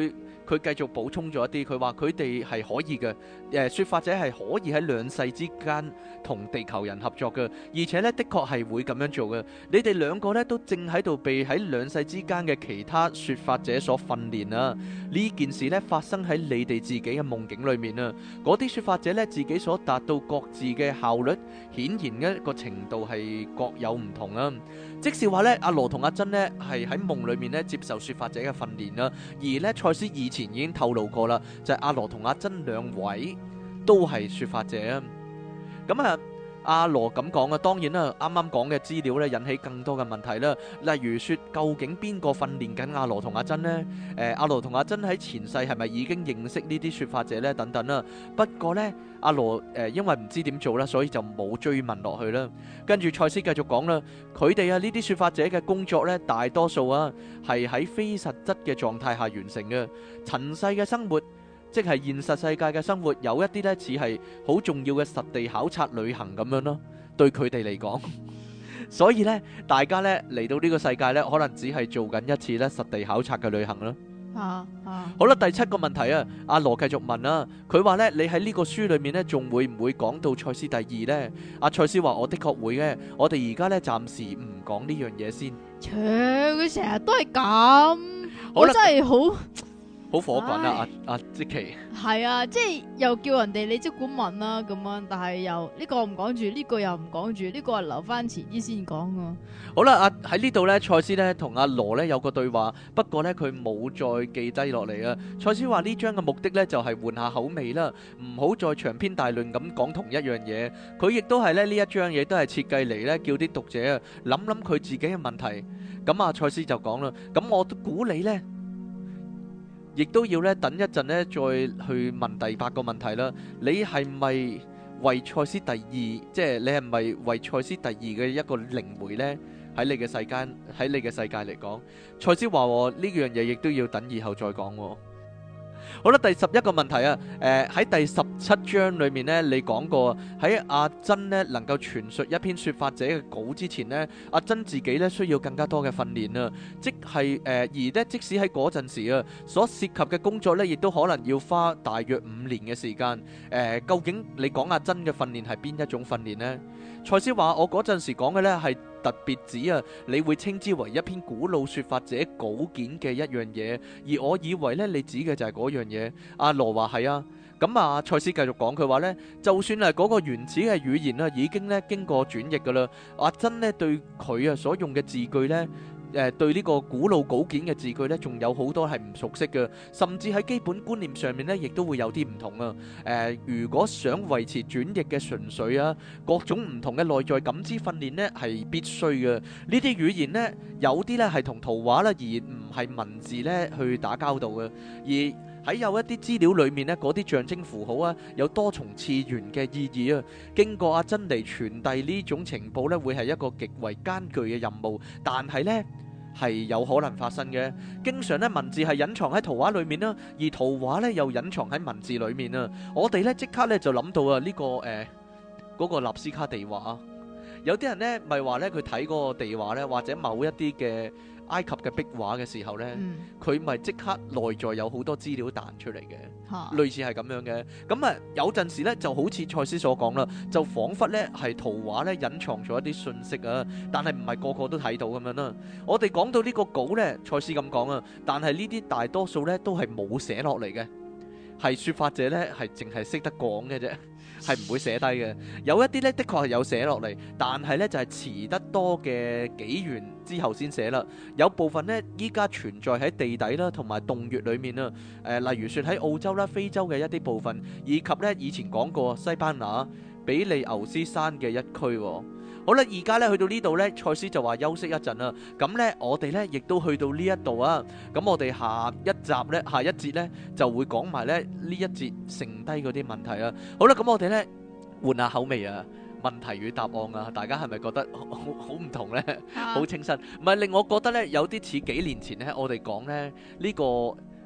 佢繼續補充咗一啲，佢話佢哋係可以嘅，誒、呃、説法者係可以喺兩世之間同地球人合作嘅，而且呢，的確係會咁樣做嘅。你哋兩個呢，都正喺度被喺兩世之間嘅其他説法者所訓練啊！呢件事呢，發生喺你哋自己嘅夢境裏面啊！嗰啲説法者呢，自己所達到各自嘅效率，顯然一個程度係各有唔同啊！即是話呢，阿羅同阿珍呢，係喺夢裏面呢接受説法者嘅訓練啦，而呢，賽斯以前已經透露過啦，就係、是、阿羅同阿珍兩位都係説法者啊！咁啊〜阿羅咁講啊，當然啦，啱啱講嘅資料咧引起更多嘅問題啦。例如說，究竟邊個訓練緊阿羅同阿珍呢？誒、呃，阿羅同阿珍喺前世係咪已經認識呢啲説法者呢？等等啦。不過呢，阿羅誒、呃、因為唔知點做啦，所以就冇追問落去啦。跟住賽斯繼續講啦，佢哋啊呢啲説法者嘅工作呢，大多數啊係喺非實質嘅狀態下完成嘅，塵世嘅生活。即係現實世界嘅生活，有一啲呢似係好重要嘅實地考察旅行咁樣咯，對佢哋嚟講。所以呢，大家呢嚟到呢個世界呢，可能只係做緊一次呢實地考察嘅旅行咯。 啊啊！ 好啦，第七個問題啊，阿羅繼續問啊，佢話呢，你喺呢個書裏面呢，仲會唔會講到賽斯第二呢？阿賽斯話：我的確會嘅，我哋而家呢，暫時唔講呢樣嘢先。切， 佢成日都係咁，我真係好。 好火滾啊！阿阿即奇係啊，即係又叫人哋你即管問啦咁樣，但係又呢個唔講住，呢個又唔講住，呢個係留翻遲啲先講啊。 好啦，阿喺呢度咧，賽斯咧同阿羅咧有個對話，不過咧佢冇再記低落嚟啊。賽斯話呢章嘅目的咧就係換下口味啦，唔好再長篇大論咁講同一樣嘢。佢亦都係咧呢一章嘢都係設計嚟咧叫啲讀者啊諗諗佢自己嘅問題。咁啊，賽斯就講啦，咁我都估你咧。亦都要咧等一陣咧，再去問第八個問題啦。你係咪為賽斯第二，即係你係咪為賽斯第二嘅一個靈媒呢？喺你嘅世間，喺你嘅世界嚟講，賽斯話呢樣嘢亦都要等以後再講。好啦，第十一個問題啊，誒、呃、喺第十七章裏面呢，你講過喺阿珍呢能夠傳述一篇說法者嘅稿之前呢，阿珍自己呢需要更加多嘅訓練啊，即係誒、呃、而呢即使喺嗰陣時啊，所涉及嘅工作呢，亦都可能要花大約五年嘅時間。誒、呃，究竟你講阿珍嘅訓練係邊一種訓練呢？賽斯話我嗰陣時講嘅呢係特別指啊，你會稱之為一篇古老說法者稿件嘅一樣嘢，而我以為呢，你指嘅就係嗰樣嘢。阿羅話係啊，咁啊賽斯繼續講，佢話呢，就算係嗰個原始嘅語言啊，已經呢經過轉譯噶啦。阿珍呢對佢啊所用嘅字句呢。誒對呢個古老稿件嘅字句呢，仲有好多係唔熟悉嘅，甚至喺基本觀念上面呢，亦都會有啲唔同啊！誒、呃，如果想維持轉譯嘅純粹啊，各種唔同嘅內在感知訓練呢係必須嘅。呢啲語言呢，有啲呢係同圖畫啦，而唔係文字呢去打交道嘅。而喺有一啲資料裏面呢，嗰啲象徵符號啊，有多重次元嘅意義啊。經過阿珍嚟傳遞呢種情報呢，會係一個極為艱巨嘅任務，但係呢，係有可能發生嘅。經常咧文字係隱藏喺圖畫裏面啦，而圖畫咧又隱藏喺文字裏面啊。我哋咧即刻咧就諗到啊呢個誒嗰個納斯卡地畫。有啲人咧咪話咧佢睇嗰個地畫咧，或者某一啲嘅埃及嘅壁畫嘅時候咧，佢咪即刻內在有好多資料彈出嚟嘅， 哈類似係咁樣嘅。咁啊有陣時咧就好似賽斯所講啦，就彷彿咧係圖畫咧隱藏咗一啲信息啊，但係唔係個個都睇到咁樣啦。我哋講到呢個稿咧，賽斯咁講啊，但係呢啲大多數咧都係冇寫落嚟嘅，係説法者咧係淨係識得講嘅啫。係唔會寫低嘅，有一啲呢，的確係有寫落嚟，但係呢，就係、是、遲得多嘅幾元之後先寫啦。有部分呢，依家存在喺地底啦，同埋洞穴裏面啦。誒、呃，例如說喺澳洲啦、非洲嘅一啲部分，以及呢以前講過西班牙比利牛斯山嘅一區、哦。好啦，而家咧去到呢度呢，賽斯就話休息一陣啦。咁呢，我哋呢亦都去到呢一度啊。咁我哋下一集呢，下一節呢，就會講埋咧呢一節剩低嗰啲問題啊。好啦，咁我哋呢，換下口味啊，問題與答案啊，大家係咪覺得好好唔同呢？好清新，唔係令我覺得呢，有啲似幾年前呢，我哋講呢呢個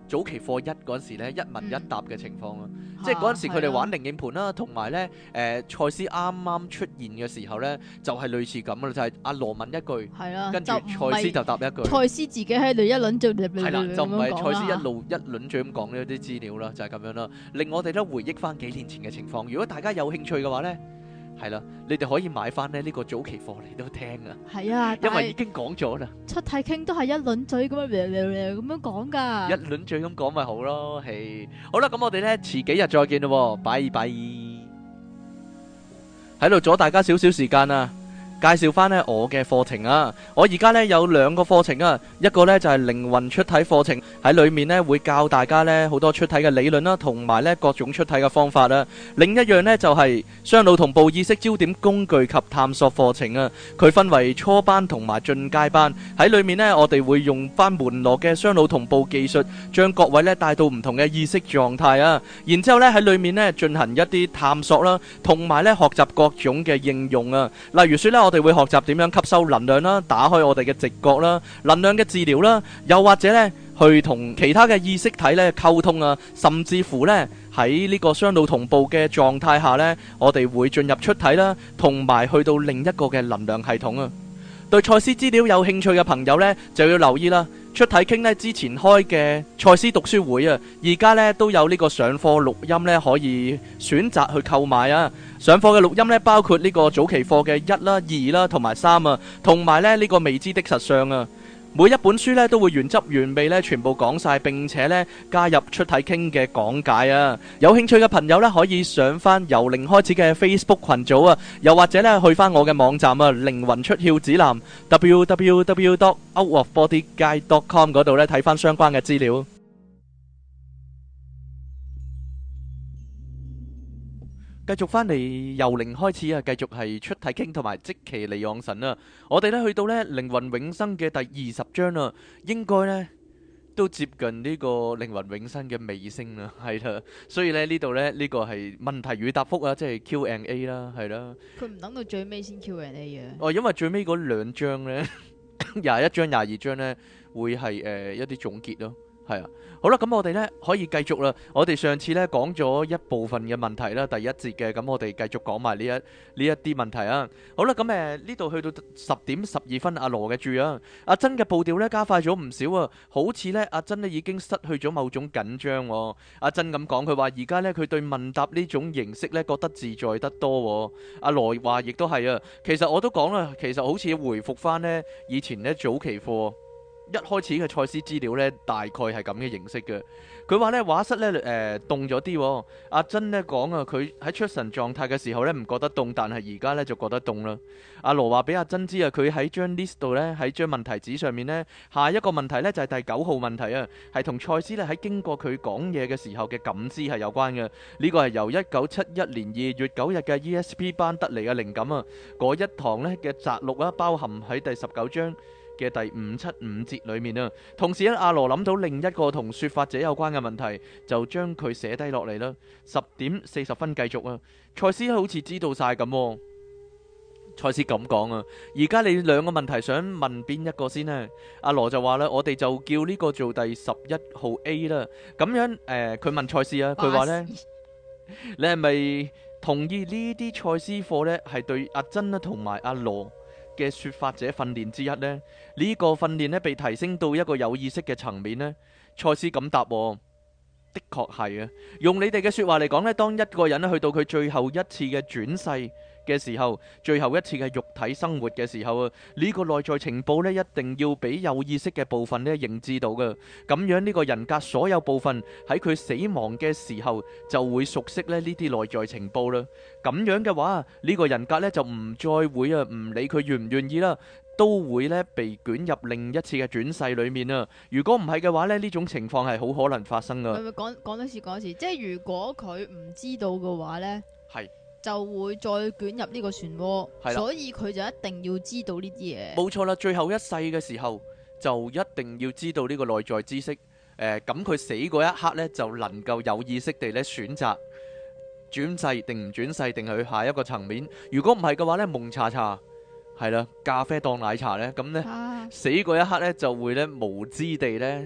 早期課一嗰陣時咧一問一答嘅情況啊， 嗯、 即係嗰陣時佢哋玩靈應盤啦，同埋咧誒賽斯啱啱出現嘅時候咧，就係、是、類似咁啦，就係、是、阿羅問一句， 係啦， 跟住賽斯就答一句， 賽斯自己喺度一輪嘴係啦，就唔係賽斯一路一輪嘴咁講呢啲資料啦，就係、是、咁樣啦，令我哋都回憶翻幾年前嘅情況。如果大家有興趣嘅話咧，係啦，你哋可以買翻咧呢個早期課嚟都聽啊。 係啊， 因為已經講咗啦。出體傾都係一輪嘴咁樣咁樣講噶。 一輪嘴咁講咪好咯，係。好啦，咁我哋咧遲幾日再見咯，拜拜。喺度阻大家少少時間啊！介紹翻呢我嘅課程啊！我而家呢有兩個課程啊，一個呢就係靈魂出體課程，喺裏面呢會教大家呢好多出體嘅理論啦，同埋呢各種出體嘅方法啦。另一樣呢就係雙腦同步意識焦點工具及探索課程啊。佢分為初班同埋進階班，喺裏面呢我哋會用翻門羅嘅雙腦同步技術，將各位呢帶到唔同嘅意識狀態啊。然之後呢喺裏面呢進行一啲探索啦，同埋呢學習各種嘅應用啊。例如說呢。我哋會學習點樣吸收能量啦，打開我哋嘅直覺啦，能量嘅治療啦，又或者呢去同其他嘅意識體呢溝通啊，甚至乎呢喺呢個雙腦同步嘅狀態下呢，我哋會進入出體啦，同埋去到另一個嘅能量系統啊。對賽斯資料有興趣嘅朋友呢，就要留意啦。出體傾呢之前開嘅賽斯讀書會啊，而家呢都有呢個上課錄音呢，可以選擇去購買啊。上課嘅錄音呢，包括呢個早期課嘅一啦、二啦同埋三啊，同埋呢呢個未知的實相啊。每一本書呢都會原汁原味呢全部講晒，並且呢加入出體傾嘅講解啊。有興趣嘅朋友呢，可以上翻由零開始嘅 Facebook 群組啊，又或者呢去翻我嘅網站啊，靈魂出竅指南 w w w dot out of body guide dot com 嗰度呢睇翻相關嘅資料。繼續翻嚟由零開始啊，繼續係出體傾同埋即其離昂神啊。我哋咧去到咧靈魂永生嘅第二十章啦，應該咧都接近呢個靈魂永生嘅尾聲啦，係啦。所以咧呢度咧呢個係問題與答覆啊，即係 Q and A 啦，係啦。佢唔等到最尾先 Q and A 嘅。哦，因為最尾嗰兩章咧，廿一章、廿二章咧會係誒一啲總結咯。係啊，好啦，咁我哋呢可以繼續啦。我哋上次呢講咗一部分嘅問題啦，第一節嘅，咁我哋繼續講埋呢一呢一啲問題啊。好啦，咁誒呢度去到十點十二分，阿羅嘅注啊，阿珍嘅步調呢加快咗唔少啊，好似呢阿珍呢已經失去咗某種緊張喎。阿珍咁講，佢話而家呢佢對問答呢種形式呢覺得自在得多喎。阿羅話亦都係啊，其實我都講啦，其實好似回復翻呢以前呢早期課。一開始嘅賽斯資料呢，大概係咁嘅形式嘅。佢話呢畫室呢誒凍咗啲。阿珍呢講啊，佢喺出神狀態嘅時候呢唔覺得凍，但係而家呢就覺得凍啦。阿羅話俾阿珍知啊，佢喺張 list 度呢，喺張問題紙上面呢，下一個問題呢就係第九號問題啊，係同賽斯呢喺經過佢講嘢嘅時候嘅感知係有關嘅。呢個係由一九七一年二月九日嘅 E S P 班得嚟嘅靈感啊。嗰一堂呢嘅摘錄啊，包含喺第十九章嘅第五七五節裏面啊，同時咧阿羅諗到另一個同說法者有關嘅問題，就將佢寫低落嚟啦。十點四十分繼續啊，賽斯好似知道晒咁。賽斯咁講啊，而家你兩個問題想問邊一個先呢？阿羅就話啦，我哋就叫呢個做第十一號 A 啦。咁樣誒，佢、呃、問賽斯啊，佢話呢，你係咪同意呢啲賽斯課呢係對阿珍啊同埋阿羅嘅說法者訓練之一呢？呢、呢個訓練呢被提升到一個有意識嘅層面呢？賽斯咁答喎，的確係啊。用你哋嘅說話嚟講呢，當一個人去到佢最後一次嘅轉世嘅時候，最後一次嘅肉體生活嘅時候啊，呢個內在情報呢，一定要俾有意識嘅部分呢認知到嘅。咁樣呢個人格所有部分喺佢死亡嘅時候就會熟悉呢呢啲內在情報啦。咁樣嘅話，呢個人格呢就唔再會啊，唔理佢願唔願意啦，都會呢被捲入另一次嘅轉世裏面啊。如果唔係嘅話呢，呢種情況係好可能發生噶。咪咪講講多次講多次，即係如果佢唔知道嘅話呢，係。就會再捲入呢個漩渦，所以佢就一定要知道呢啲嘢。冇錯啦，最後一世嘅時候就一定要知道呢個內在知識。誒、呃，咁佢死嗰一刻呢，就能夠有意識地咧選擇轉世定唔轉世，定係去下一個層面。如果唔係嘅話呢，蒙查查係啦，咖啡當奶茶呢，咁呢，啊、死嗰一刻呢，就會呢無知地呢。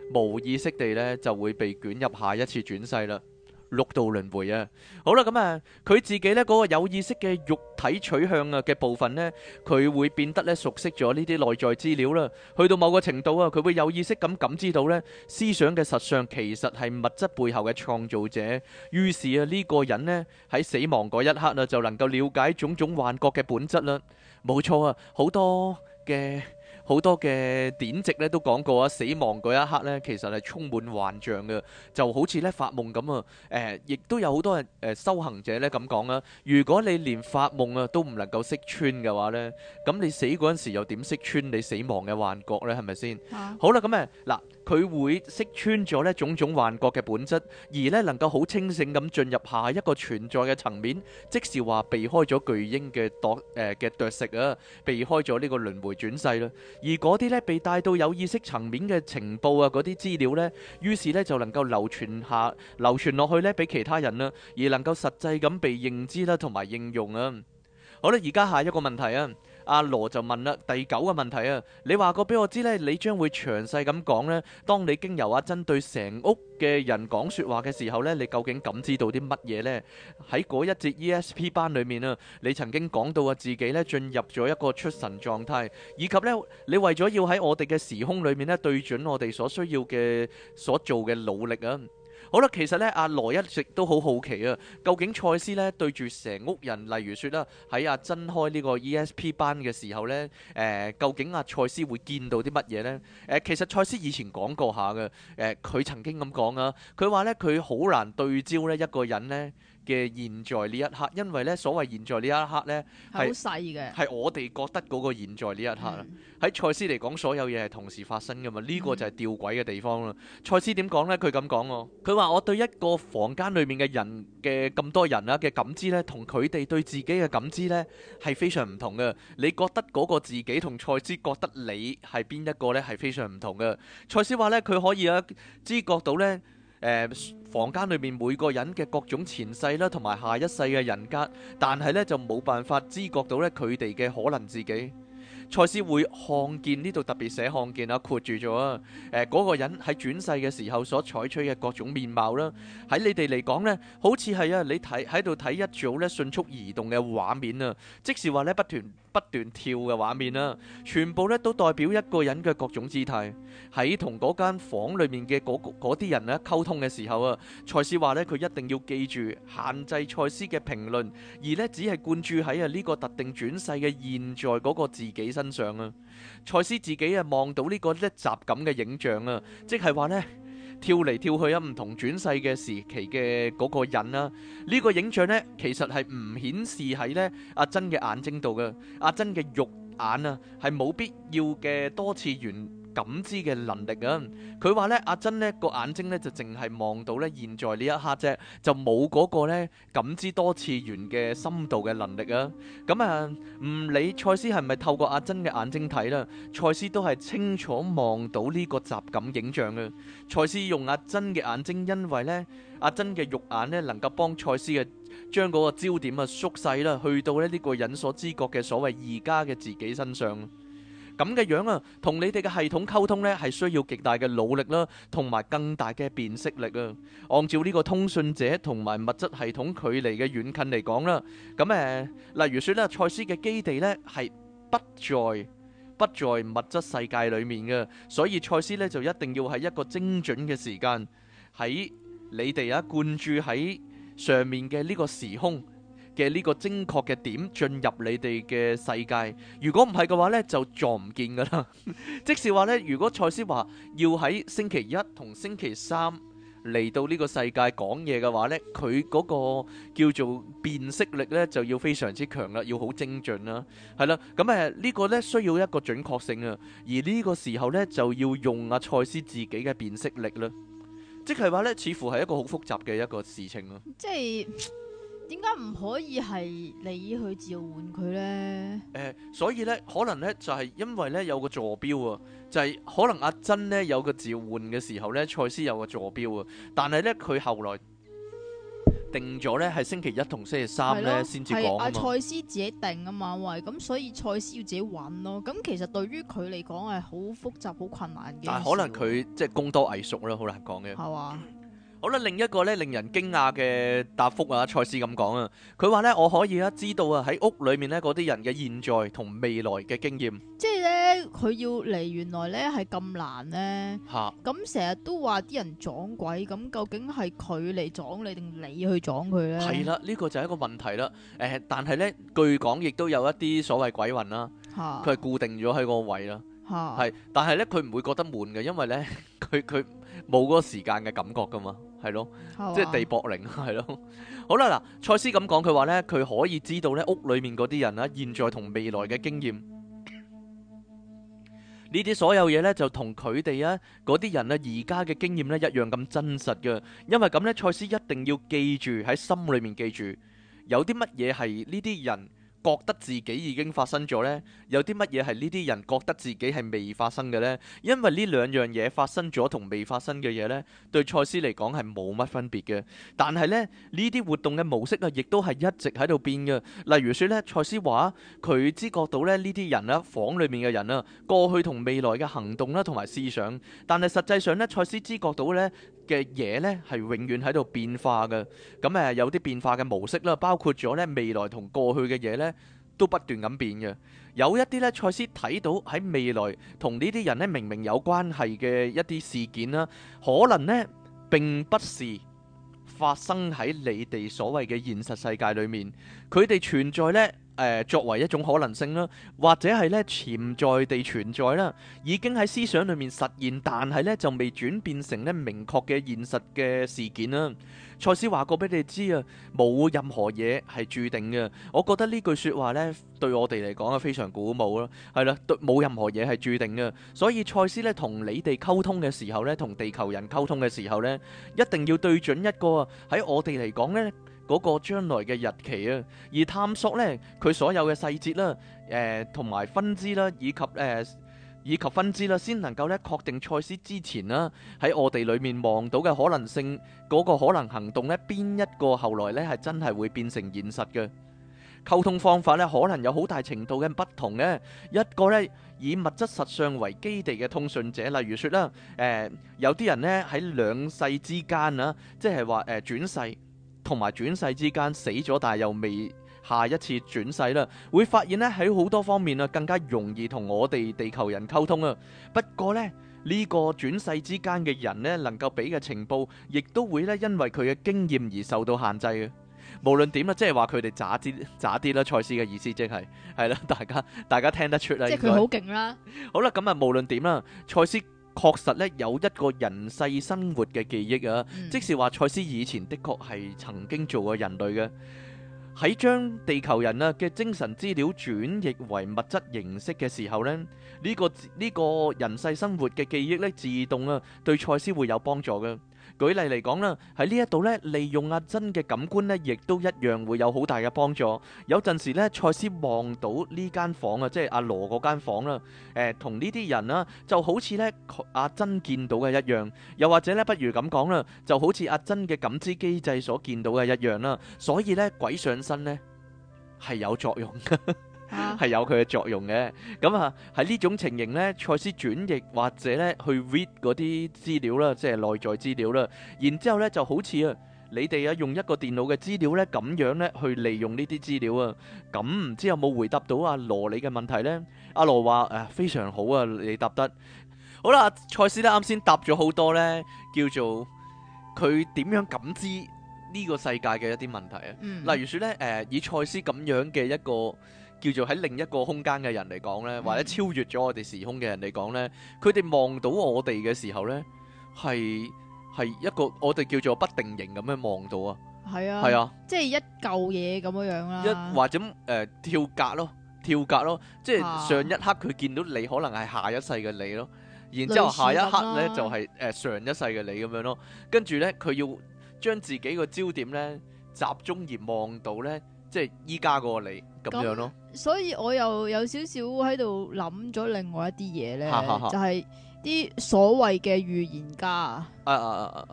無意識地呢就會被捲入下一次轉世啦。六道輪迴啊，好啦，咁啊，佢自己呢嗰個有意識嘅肉體取向啊嘅部分呢，佢會變得呢熟悉咗呢啲內在資料啦。去到某個程度啊，佢會有意識咁感知到呢思想嘅實相其實係物質背後嘅創造者。於是啊，呢個人呢喺死亡嗰一刻啊，就能夠了解種種幻覺嘅本質啦。冇錯啊，好多嘅。好多嘅典籍咧都講過啊，死亡嗰一刻咧，其實係充滿幻象嘅，就好似咧發夢咁啊。誒、呃，亦都有好多人誒、呃、修行者咧咁講啊。如果你連發夢啊都唔能夠識穿嘅話咧，咁你死嗰陣時又點識穿你死亡嘅幻覺咧？係咪先？啊、好啦，咁誒嗱，佢會識穿咗呢種種幻覺嘅本質，而咧能夠好清醒咁進入下一個存在嘅層面，即是話避開咗巨鷹嘅奪誒嘅啄食啊，避開咗呢個輪迴轉世啦。而嗰啲咧被帶到有意識層面嘅情報啊，嗰啲資料呢，於是呢就能夠流傳下、流傳落去呢，俾其他人啦，而能夠實際咁被認知啦，同埋應用啊。好啦，而家下一個問題啊。阿羅就問啦，第九個問題啊，你話過俾我知呢，你將會詳細咁講呢。當你經由阿珍對成屋嘅人講說話嘅時候呢，你究竟感知到啲乜嘢呢？喺嗰一節 E S P 班裏面啊，你曾經講到啊自己呢進入咗一個出神狀態，以及呢你為咗要喺我哋嘅時空裏面呢對準我哋所需要嘅所做嘅努力啊。好啦，其實咧，阿羅一直都好好奇啊，究竟賽斯咧對住成屋人，例如說啦，喺阿珍開呢個 E S P 班嘅時候咧，誒、呃，究竟阿賽斯會見到啲乜嘢咧？誒、呃，其實賽斯以前講過下嘅，誒、呃，佢曾經咁講啊，佢話咧佢好難對焦咧一個人咧嘅現在呢一刻，因為咧所謂現在呢一刻咧係好細嘅，係我哋覺得嗰個現在呢一刻啊。喺賽斯嚟講，所有嘢係同時發生噶嘛，呢、這個就係吊詭嘅地方啦。賽斯點講呢？佢咁講喎，佢話我對一個房間裏面嘅人嘅咁多人啊嘅感知呢，同佢哋對自己嘅感知呢係非常唔同嘅。你覺得嗰個自己同賽斯覺得你係邊一個呢？係非常唔同嘅。賽斯話呢，佢可以啊知覺到呢。誒、呃、房間裏面每個人嘅各種前世啦，同埋下一世嘅人格，但係呢就冇辦法知覺到呢佢哋嘅可能自己。賽斯會看見，呢度特別寫看見啊，括住咗啊。誒、呃、嗰、那個人喺轉世嘅時候所採取嘅各種面貌啦，喺你哋嚟講呢，好似係啊，你睇喺度睇一組咧迅速移動嘅畫面啊，即是話呢不斷不斷跳嘅畫面啦，全部咧都代表一個人嘅各種姿態。喺同嗰間房裏面嘅嗰啲人咧溝通嘅時候啊，賽斯話呢，佢一定要記住限制賽斯嘅評論，而呢只係灌注喺啊呢個特定轉世嘅現在嗰個自己身上啊。賽斯自己啊望到呢個一集咁嘅影像啊，即係話呢，跳嚟跳去啊唔同轉世嘅時期嘅嗰個人啊，呢、呢個影像呢，其實係唔顯示喺呢阿珍嘅眼睛度嘅，阿珍嘅肉眼啊係冇必要嘅多次元感知嘅能力啊。佢話咧阿珍呢個眼睛咧就淨係望到咧現在呢一刻啫，就冇嗰個咧感知多次元嘅深度嘅能力啊。咁啊唔理賽斯係咪透過阿珍嘅眼睛睇啦，賽斯都係清楚望到呢個集感影像嘅。賽斯用阿珍嘅眼睛，因為咧阿珍嘅肉眼咧能夠幫賽斯嘅將嗰個焦點啊縮細啦，去到咧呢個人所知覺嘅所謂而家嘅自己身上。咁嘅樣啊，同你哋嘅系統溝通呢，係需要極大嘅努力啦，同埋更大嘅辨識力啊。按照呢個通訊者同埋物質系統距離嘅遠近嚟講啦，咁誒，例如說咧，賽斯嘅基地呢係不在不在物質世界裏面嘅，所以賽斯呢就一定要喺一個精準嘅時間喺你哋啊灌注喺上面嘅呢個時空嘅呢個精確嘅點進入你哋嘅世界，如果唔係嘅話呢，就撞唔見噶啦。即是話呢，如果賽斯話要喺星期一同星期三嚟到呢個世界講嘢嘅話呢，佢嗰個叫做辨識力呢就要非常之強啦，要好精準啦，係啦。咁誒呢個呢需要一個準確性啊，而呢個時候呢，就要用阿賽斯自己嘅辨識力啦，即係話呢，似乎係一個好複雜嘅一個事情咯。即係。 點解唔可以係你去召喚佢呢？ 誒、呃，所以咧，可能咧就係、是、因為咧有個坐標啊，就係、是、可能阿珍咧有個召喚嘅時候咧，賽斯有個坐標啊，但係咧佢後來定咗咧係星期一同星期三咧先至講啊嘛。 係阿賽斯自己定啊嘛，喂，咁所以賽斯要自己揾咯。咁其實對於佢嚟講係好複雜、好困難嘅。 但係可能佢即係功多藝熟啦，好難講嘅。 係嘛？ 好啦，另一個咧令人驚訝嘅答覆啊，賽斯咁講啊，佢話咧我可以啊知道啊喺屋裏面咧嗰啲人嘅現在同未來嘅經驗。 即係咧，佢要嚟原來咧係咁難咧。 嚇！ 咁成日都話啲人撞鬼，咁究竟係佢嚟撞你定你去撞佢咧？ 係啦，呢個就係一個問題啦。誒，但係咧據講亦都有一啲所謂鬼魂啦， 嚇， 佢係固定咗喺個位啦。 嚇， 係，但係咧佢唔會覺得悶嘅，因為咧佢佢冇嗰個時間嘅感覺噶嘛，係咯，即係地縛靈係咯。好啦，嗱，賽斯咁講，佢話咧佢可以知道咧屋裏面嗰啲人啦，現在同未來嘅經驗，呢啲所有嘢咧就同佢哋啊嗰啲人啊而家嘅經驗咧一樣咁真實嘅，因為咁咧賽斯一定要記住喺心裏面記住，有啲乜嘢係呢啲人覺得自己已經發生咗呢？有啲乜嘢係呢啲人覺得自己係未發生嘅呢？因為呢兩樣嘢發生咗同未發生嘅嘢呢，對賽斯嚟講係冇乜分別嘅。但係呢，呢啲活動嘅模式啊，亦都係一直喺度變嘅。例如說呢，賽斯話佢知覺到咧呢啲人啦，房裏面嘅人啊，過去同未來嘅行動啦，同埋思想。但係實際上呢，賽斯知覺到呢嘅嘢呢係永遠喺度變化嘅。咁誒有啲變化嘅模式啦，包括咗呢未來同過去嘅嘢呢，都不斷咁變嘅。有一啲呢，賽斯睇到喺未來同呢啲人呢明明有關係嘅一啲事件啦，可能呢並不是發生喺你哋所謂嘅現實世界裏面，佢哋存在呢。誒、呃、作為一種可能性啦，或者係咧潛在地存在啦，已經喺思想裏面實現，但係咧就未轉變成咧明確嘅現實嘅事件啦。賽斯話過俾你知啊，冇任何嘢係注定嘅。我覺得呢句説話咧對我哋嚟講係非常鼓舞咯，係啦，冇任何嘢係注定嘅。所以賽斯咧同你哋溝通嘅時候咧，同地球人溝通嘅時候咧，一定要對準一個喺我哋嚟講咧嗰個將來嘅日期啊，而探索呢佢所有嘅細節啦，誒同埋分支啦，以及誒、呃、以及分支啦，先能夠咧確定賽斯之前啦喺我哋裏面望到嘅可能性嗰、嗰個可能行動呢，邊一個後來呢係真係會變成現實嘅溝通方法呢，可能有好大程度嘅不同嘅。一個呢以物質實相為基地嘅通訊者，例如說啦，誒、呃、有啲人呢喺兩世之間啊，即係話誒轉世。同埋轉世之間死咗，但係又未下一次轉世啦，會發現咧喺好多方面啊，更加容易同我哋地球人溝通啊。不過呢，呢個轉世之間嘅人呢，能夠俾嘅情報，亦都會咧因為佢嘅經驗而受到限制嘅。無論點啦，即係話佢哋渣啲渣啲啦。賽斯嘅意思即係係啦，大家大家聽得出啦。 即係佢好勁啦。 好啦，咁啊，無論點啦，賽斯確實咧有一個人世生活嘅記憶啊，嗯、即是話賽斯以前的確係曾經做過人類嘅，喺將地球人啊嘅精神資料轉譯為物質形式嘅時候呢，呢、呢個呢、呢個人世生活嘅記憶咧自動啊對賽斯會有幫助嘅。舉例嚟講啦，喺呢一度咧，利用阿珍嘅感官咧，亦都一樣會有好大嘅幫助。有陣時咧，賽斯望到呢間房啊，即係阿羅嗰間房啦，誒同呢啲人啦，就好似咧阿珍見到嘅一樣。又或者咧，不如咁講啦，就好似阿珍嘅感知機制所見到嘅一樣啦。所以咧，鬼上身咧係有作用嘅。係有佢嘅作用嘅，咁啊喺呢種情形呢，賽斯轉譯或者咧去 read 嗰啲資料啦，即係內在資料啦，然之後咧就好似啊你哋啊用一個電腦嘅資料咧咁樣咧去利用呢啲資料啊，咁唔知有冇回答到阿羅你嘅問題呢？阿羅話誒非常好啊，你答得好啦。賽斯咧啱先答咗好多呢，叫做佢點樣感知呢個世界嘅一啲問題啊，嗯、例如說咧誒、呃、以賽斯咁樣嘅一個叫做喺另一個空間嘅人嚟講呢，或者超越咗我哋時空嘅人嚟講呢，佢哋望到我哋嘅時候呢，係係一個我哋叫做不定型咁樣望到啊，係啊，係啊， 即係一嚿嘢咁樣樣啦， 一或者誒、呃、跳格咯，跳格咯，即係上一刻佢見到你可能係下一世嘅你咯，然之後下一刻呢就係、是、誒、呃、上一世嘅你咁樣咯，跟住呢，佢要將自己個焦點呢集中而望到呢，即係依家嗰個你咁樣咯。 所以我又有少少喺度諗咗另外一啲嘢咧，就係啲所謂嘅預言家啊， 啊啊啊啊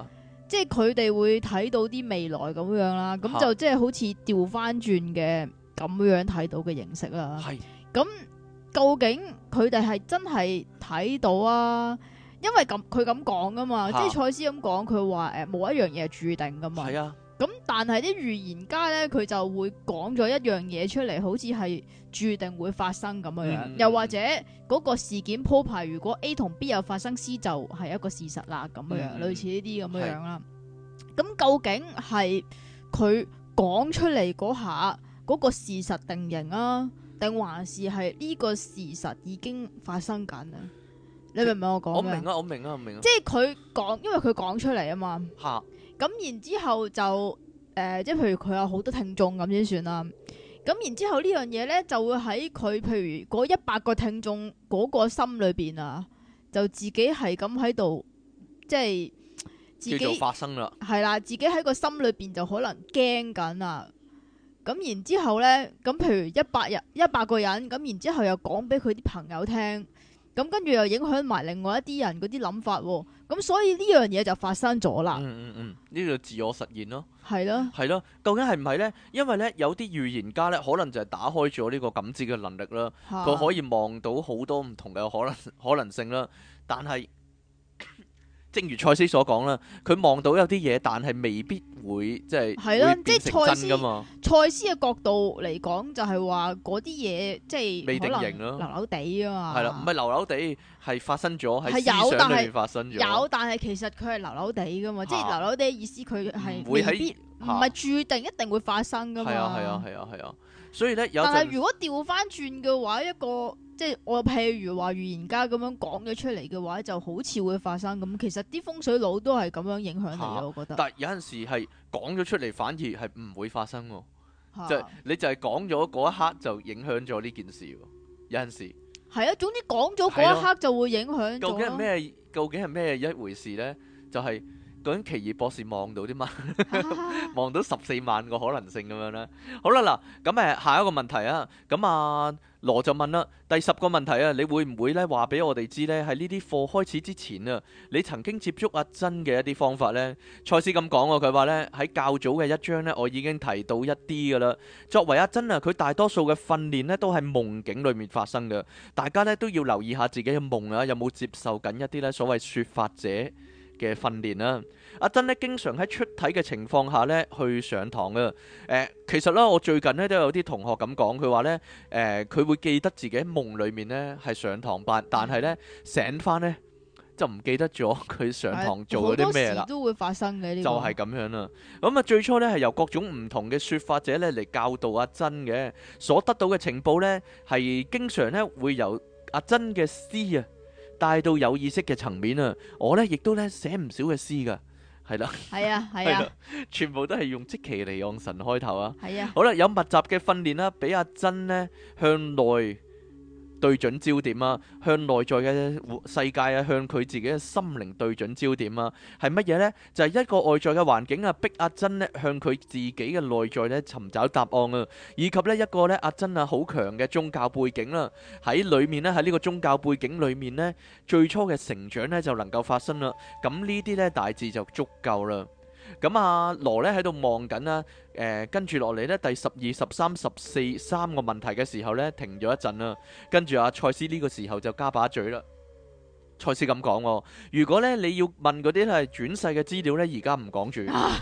即係佢哋會睇到啲未來咁樣啦，咁就即係好似調翻轉嘅咁樣睇到嘅形式啦。 係咁究竟佢哋係真係睇到啊？因為咁佢咁講噶嘛，即係賽斯咁講，佢話誒冇一樣嘢係注定噶嘛。係啊。咁但係啲預言家咧，佢就會講咗一樣嘢出嚟，好似係注定會發生咁樣樣，嗯、又或者嗰個事件鋪排，如果 A 同 B 有發生 C 就係一個事實啦，咁樣樣，嗯、類似呢啲咁樣樣啦。咁究竟係佢講出嚟嗰下嗰個事實定型啊，定還是係呢個事實已經發生緊啊？你明唔明我講咩？我明啊，我明啊，我明啊。即係佢講，因為佢講出嚟啊嘛。吓。咁然之後就誒、呃，即係譬如佢有好多聽眾咁先算啦。咁然之後呢樣嘢咧，就會喺佢譬如嗰一百個聽眾嗰個心裏邊啊，就自己係咁喺度，即係自己叫做發生啦。係啦，自己喺個心裏邊就可能驚緊啊。咁然之後咧，咁譬如一百日一百個人，咁然之後又講俾佢啲朋友聽。咁跟住又影響埋另外一啲人嗰啲諗法，咁所以呢樣嘢就發生咗啦。嗯嗯嗯，呢個自我實現咯。係咯，係咯。究竟係唔係呢？因為呢，有啲預言家呢，可能就係打開咗呢個感知嘅能力啦，佢可以望到好多唔同嘅可能可能性啦。但係，正如賽斯所講啦，佢望到有啲嘢，但係未必會即係會變成真噶嘛。賽斯嘅角度嚟講，就係話嗰啲嘢即係未定型咯，流流地啊嘛。係啦，唔係流流地，係發生咗喺思想裏面發生咗。有，但係其實佢係流流地噶嘛，即係流流地嘅意思，佢係未必唔係注定一定會發生噶嘛。係啊係啊係啊係啊，所以咧有。但係如果調翻轉嘅話，一個。即係我譬如話預言家咁樣講咗出嚟嘅話，就好似會發生咁。其實啲風水佬都係咁樣影響你嘅，啊、我覺得。但係有陣時係講咗出嚟，反而係唔會發生喎。啊、就你就係講咗嗰一刻就影響咗呢件事喎。有陣時係啊，總之講咗嗰一刻就會影響。究竟係咩？究竟係咩一回事咧？就係、是。究竟奇異博士望到啲乜？望到十四萬個可能性咁樣咧。好啦，嗱，咁誒下一個問題啊。咁啊羅就問啦，第十個問題啊，你會唔會咧話俾我哋知咧？喺呢啲課開始之前啊，你曾經接觸阿珍嘅一啲方法咧？賽斯咁講喎，佢話咧喺較早嘅一章咧，我已經提到一啲噶啦。作為阿珍啊，佢大多數嘅訓練咧都喺夢境裏面發生嘅。大家咧都要留意下自己嘅夢啊，有冇接受緊一啲咧所謂説法者嘅訓練啦。阿珍咧經常喺出體嘅情況下咧去上堂嘅。誒、呃，其實咧我最近咧都有啲同學咁講，佢話咧誒佢會記得自己喺夢裏面咧係上堂班，但係咧醒翻咧就唔記得咗佢上堂做咗啲咩啦。好多時都會發生嘅呢個。就係咁樣啦。咁啊最初咧係由各種唔同嘅説法者咧嚟教導阿珍嘅，所得到嘅情報咧係經常咧會由阿珍嘅詩啊帶到有意識嘅層面啊。我咧亦都咧寫唔少嘅詩噶。係啦，係啊，係啊，全部都係用即其嚟用神開頭啊。係啊，好啦，有密集嘅訓練啦，俾阿珍呢向內對準焦點啊，向內在嘅世界啊，向佢自己嘅心靈對準焦點啊，係乜嘢呢？就係、是、一個外在嘅環境啊，逼阿珍呢向佢自己嘅內在呢尋找答案啊，以及呢一個呢阿珍啊好強嘅宗教背景啦，喺裏面呢，喺呢個宗教背景裏面呢，最初嘅成長呢就能夠發生啦。咁呢啲呢大致就足夠啦。咁阿羅咧喺度望緊啦，誒跟住落嚟咧第十二、十三、十四三個問題嘅時候咧停咗一陣啦，跟住阿賽斯呢個時候就加把嘴啦。賽斯咁講喎，如果咧你要問嗰啲係轉世嘅資料咧，而家唔講住。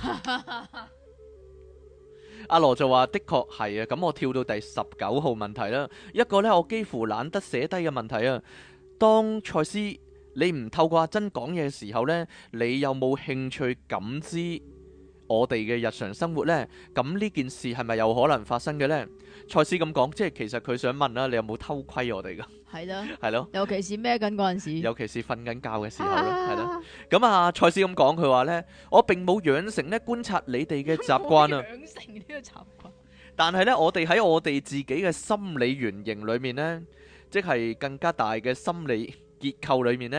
阿羅就話：的確係啊，咁我跳到第十九號問題啦，一個咧我幾乎懶得寫低嘅問題啊。當賽斯你唔透過阿珍講嘢嘅時候呢，你有冇興趣感知我哋嘅日常生活呢？咁呢件事係咪有可能發生嘅呢？賽斯咁講，即係其實佢想問啦，你有冇偷窺我哋噶？係咯，係咯，尤其是孭緊嗰陣時，尤其是瞓緊覺嘅時候咯，係咯。咁啊，賽斯咁講，佢話呢：「我並冇養成呢觀察你哋嘅習慣啊。養成呢個習慣，但係呢，我哋喺我哋自己嘅心理原型裏面呢，即係更加大嘅心理結構裏面呢，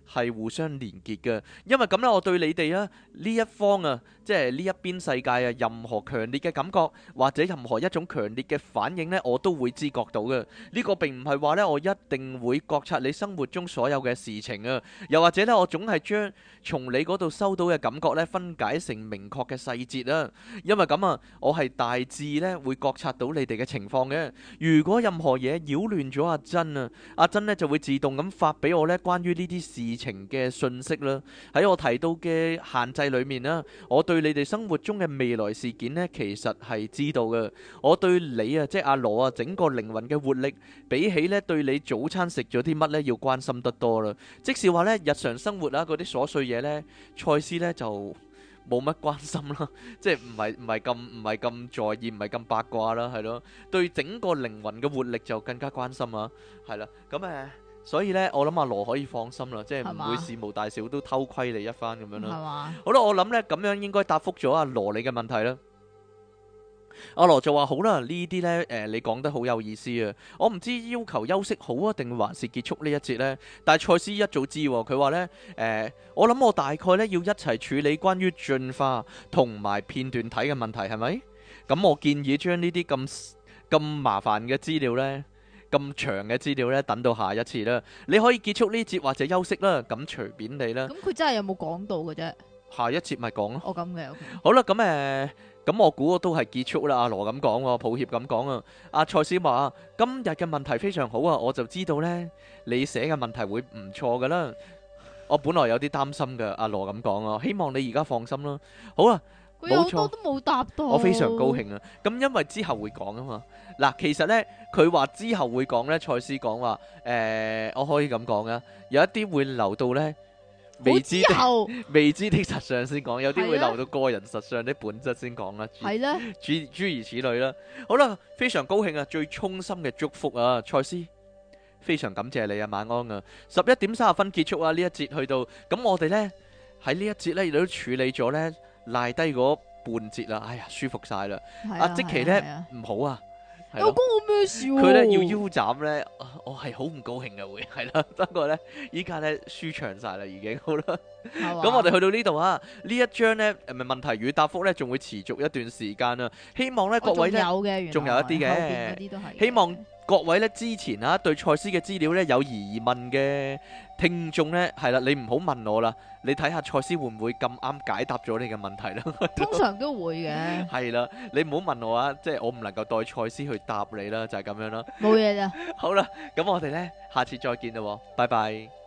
係互相連結嘅。因為咁呢，我對你哋啊呢一方啊，即係呢一邊世界啊，任何強烈嘅感覺或者任何一種強烈嘅反應呢，我都會知覺到嘅。呢個並唔係話呢，我一定會覺察你生活中所有嘅事情啊，又或者呢，我總係將從你嗰度收到嘅感覺呢，分解成明確嘅細節啊。因為咁啊，我係大致呢會覺察到你哋嘅情況嘅。如果任何嘢擾亂咗阿珍啊，阿珍呢就會自動咁發俾我呢關於呢啲事情嘅信息啦。喺我提到嘅限制裏面啦，我對你哋生活中嘅未來事件呢，其實係知道嘅。我對你啊，即係阿羅啊，整個靈魂嘅活力，比起呢對你早餐食咗啲乜呢，要關心得多啦。即是話呢，日常生活啊嗰啲瑣碎嘢呢，賽斯呢就冇乜關心啦，即係唔係唔係咁唔係咁在意，唔係咁八卦啦，係咯。對整個靈魂嘅活力就更加關心啊，係啦。咁誒，所以呢，我諗阿羅可以放心啦，即係唔會事無大小都偷窺你一番咁樣啦。係嘛？好啦，我諗呢咁樣應該答覆咗阿羅你嘅問題啦。阿羅就話好啦，呢啲呢，誒、呃，你講得好有意思啊！我唔知要求休息好啊，定還是結束呢一節呢？但係賽斯一早知，佢話呢，誒、呃，我諗我大概呢要一齊處理關於進化同埋片段體嘅問題，係咪？咁我建議將呢啲咁咁麻煩嘅資料呢，咁長嘅資料呢，等到下一次啦。你可以結束呢節或者休息啦，咁隨便你啦。咁佢真係有冇講到嘅啫？下一節咪講咯。哦，咁嘅。Okay. 好啦，咁誒。呃咁我估都係結束啦。阿羅咁講喎，抱歉咁講啊。阿賽斯話：今日嘅問題非常好啊，我就知道呢，你寫嘅問題會唔錯噶啦。我本來有啲擔心嘅，阿羅咁講啊，希望你而家放心啦。好啊，冇錯，都冇答到。我非常高興啊。咁因為之後會講啊嘛。嗱，其實呢，佢話之後會講呢，賽斯講話誒，我可以咁講啊，有一啲會留到呢。未知的未知的實相先講，有啲會留到個人實相的本質先講啦。係咧，諸諸如此類啦。好啦，非常高興啊，最衷心嘅祝福啊，賽斯，非常感謝你啊，晚安啊。十一點三十分結束啊，呢一節去到，咁我哋咧喺呢一節咧亦都處理咗咧賴低嗰半節啦。哎呀，舒服晒啦。阿即奇咧唔好啊。有關我咩事？佢咧要腰斬咧，我係好唔高興嘅會係啦。不過咧，依家咧舒暢晒啦，已經好啦。咁我哋去到呢度啊，呢一章咧誒咪問題與答覆咧，仲會持續一段時間啊。希望咧各位咧，仲有一啲嘅，希望各位咧之前啊對賽斯嘅資料咧有疑問嘅聽眾咧，係啦，你唔好問我啦，你睇下賽斯會唔會咁啱解答咗你嘅問題啦。通常都會嘅。係啦，你唔好問我啊，即係我唔能夠代賽斯去答你啦，就係咁樣啦。冇嘢啦。好啦，咁我哋咧下次再見啦，拜拜。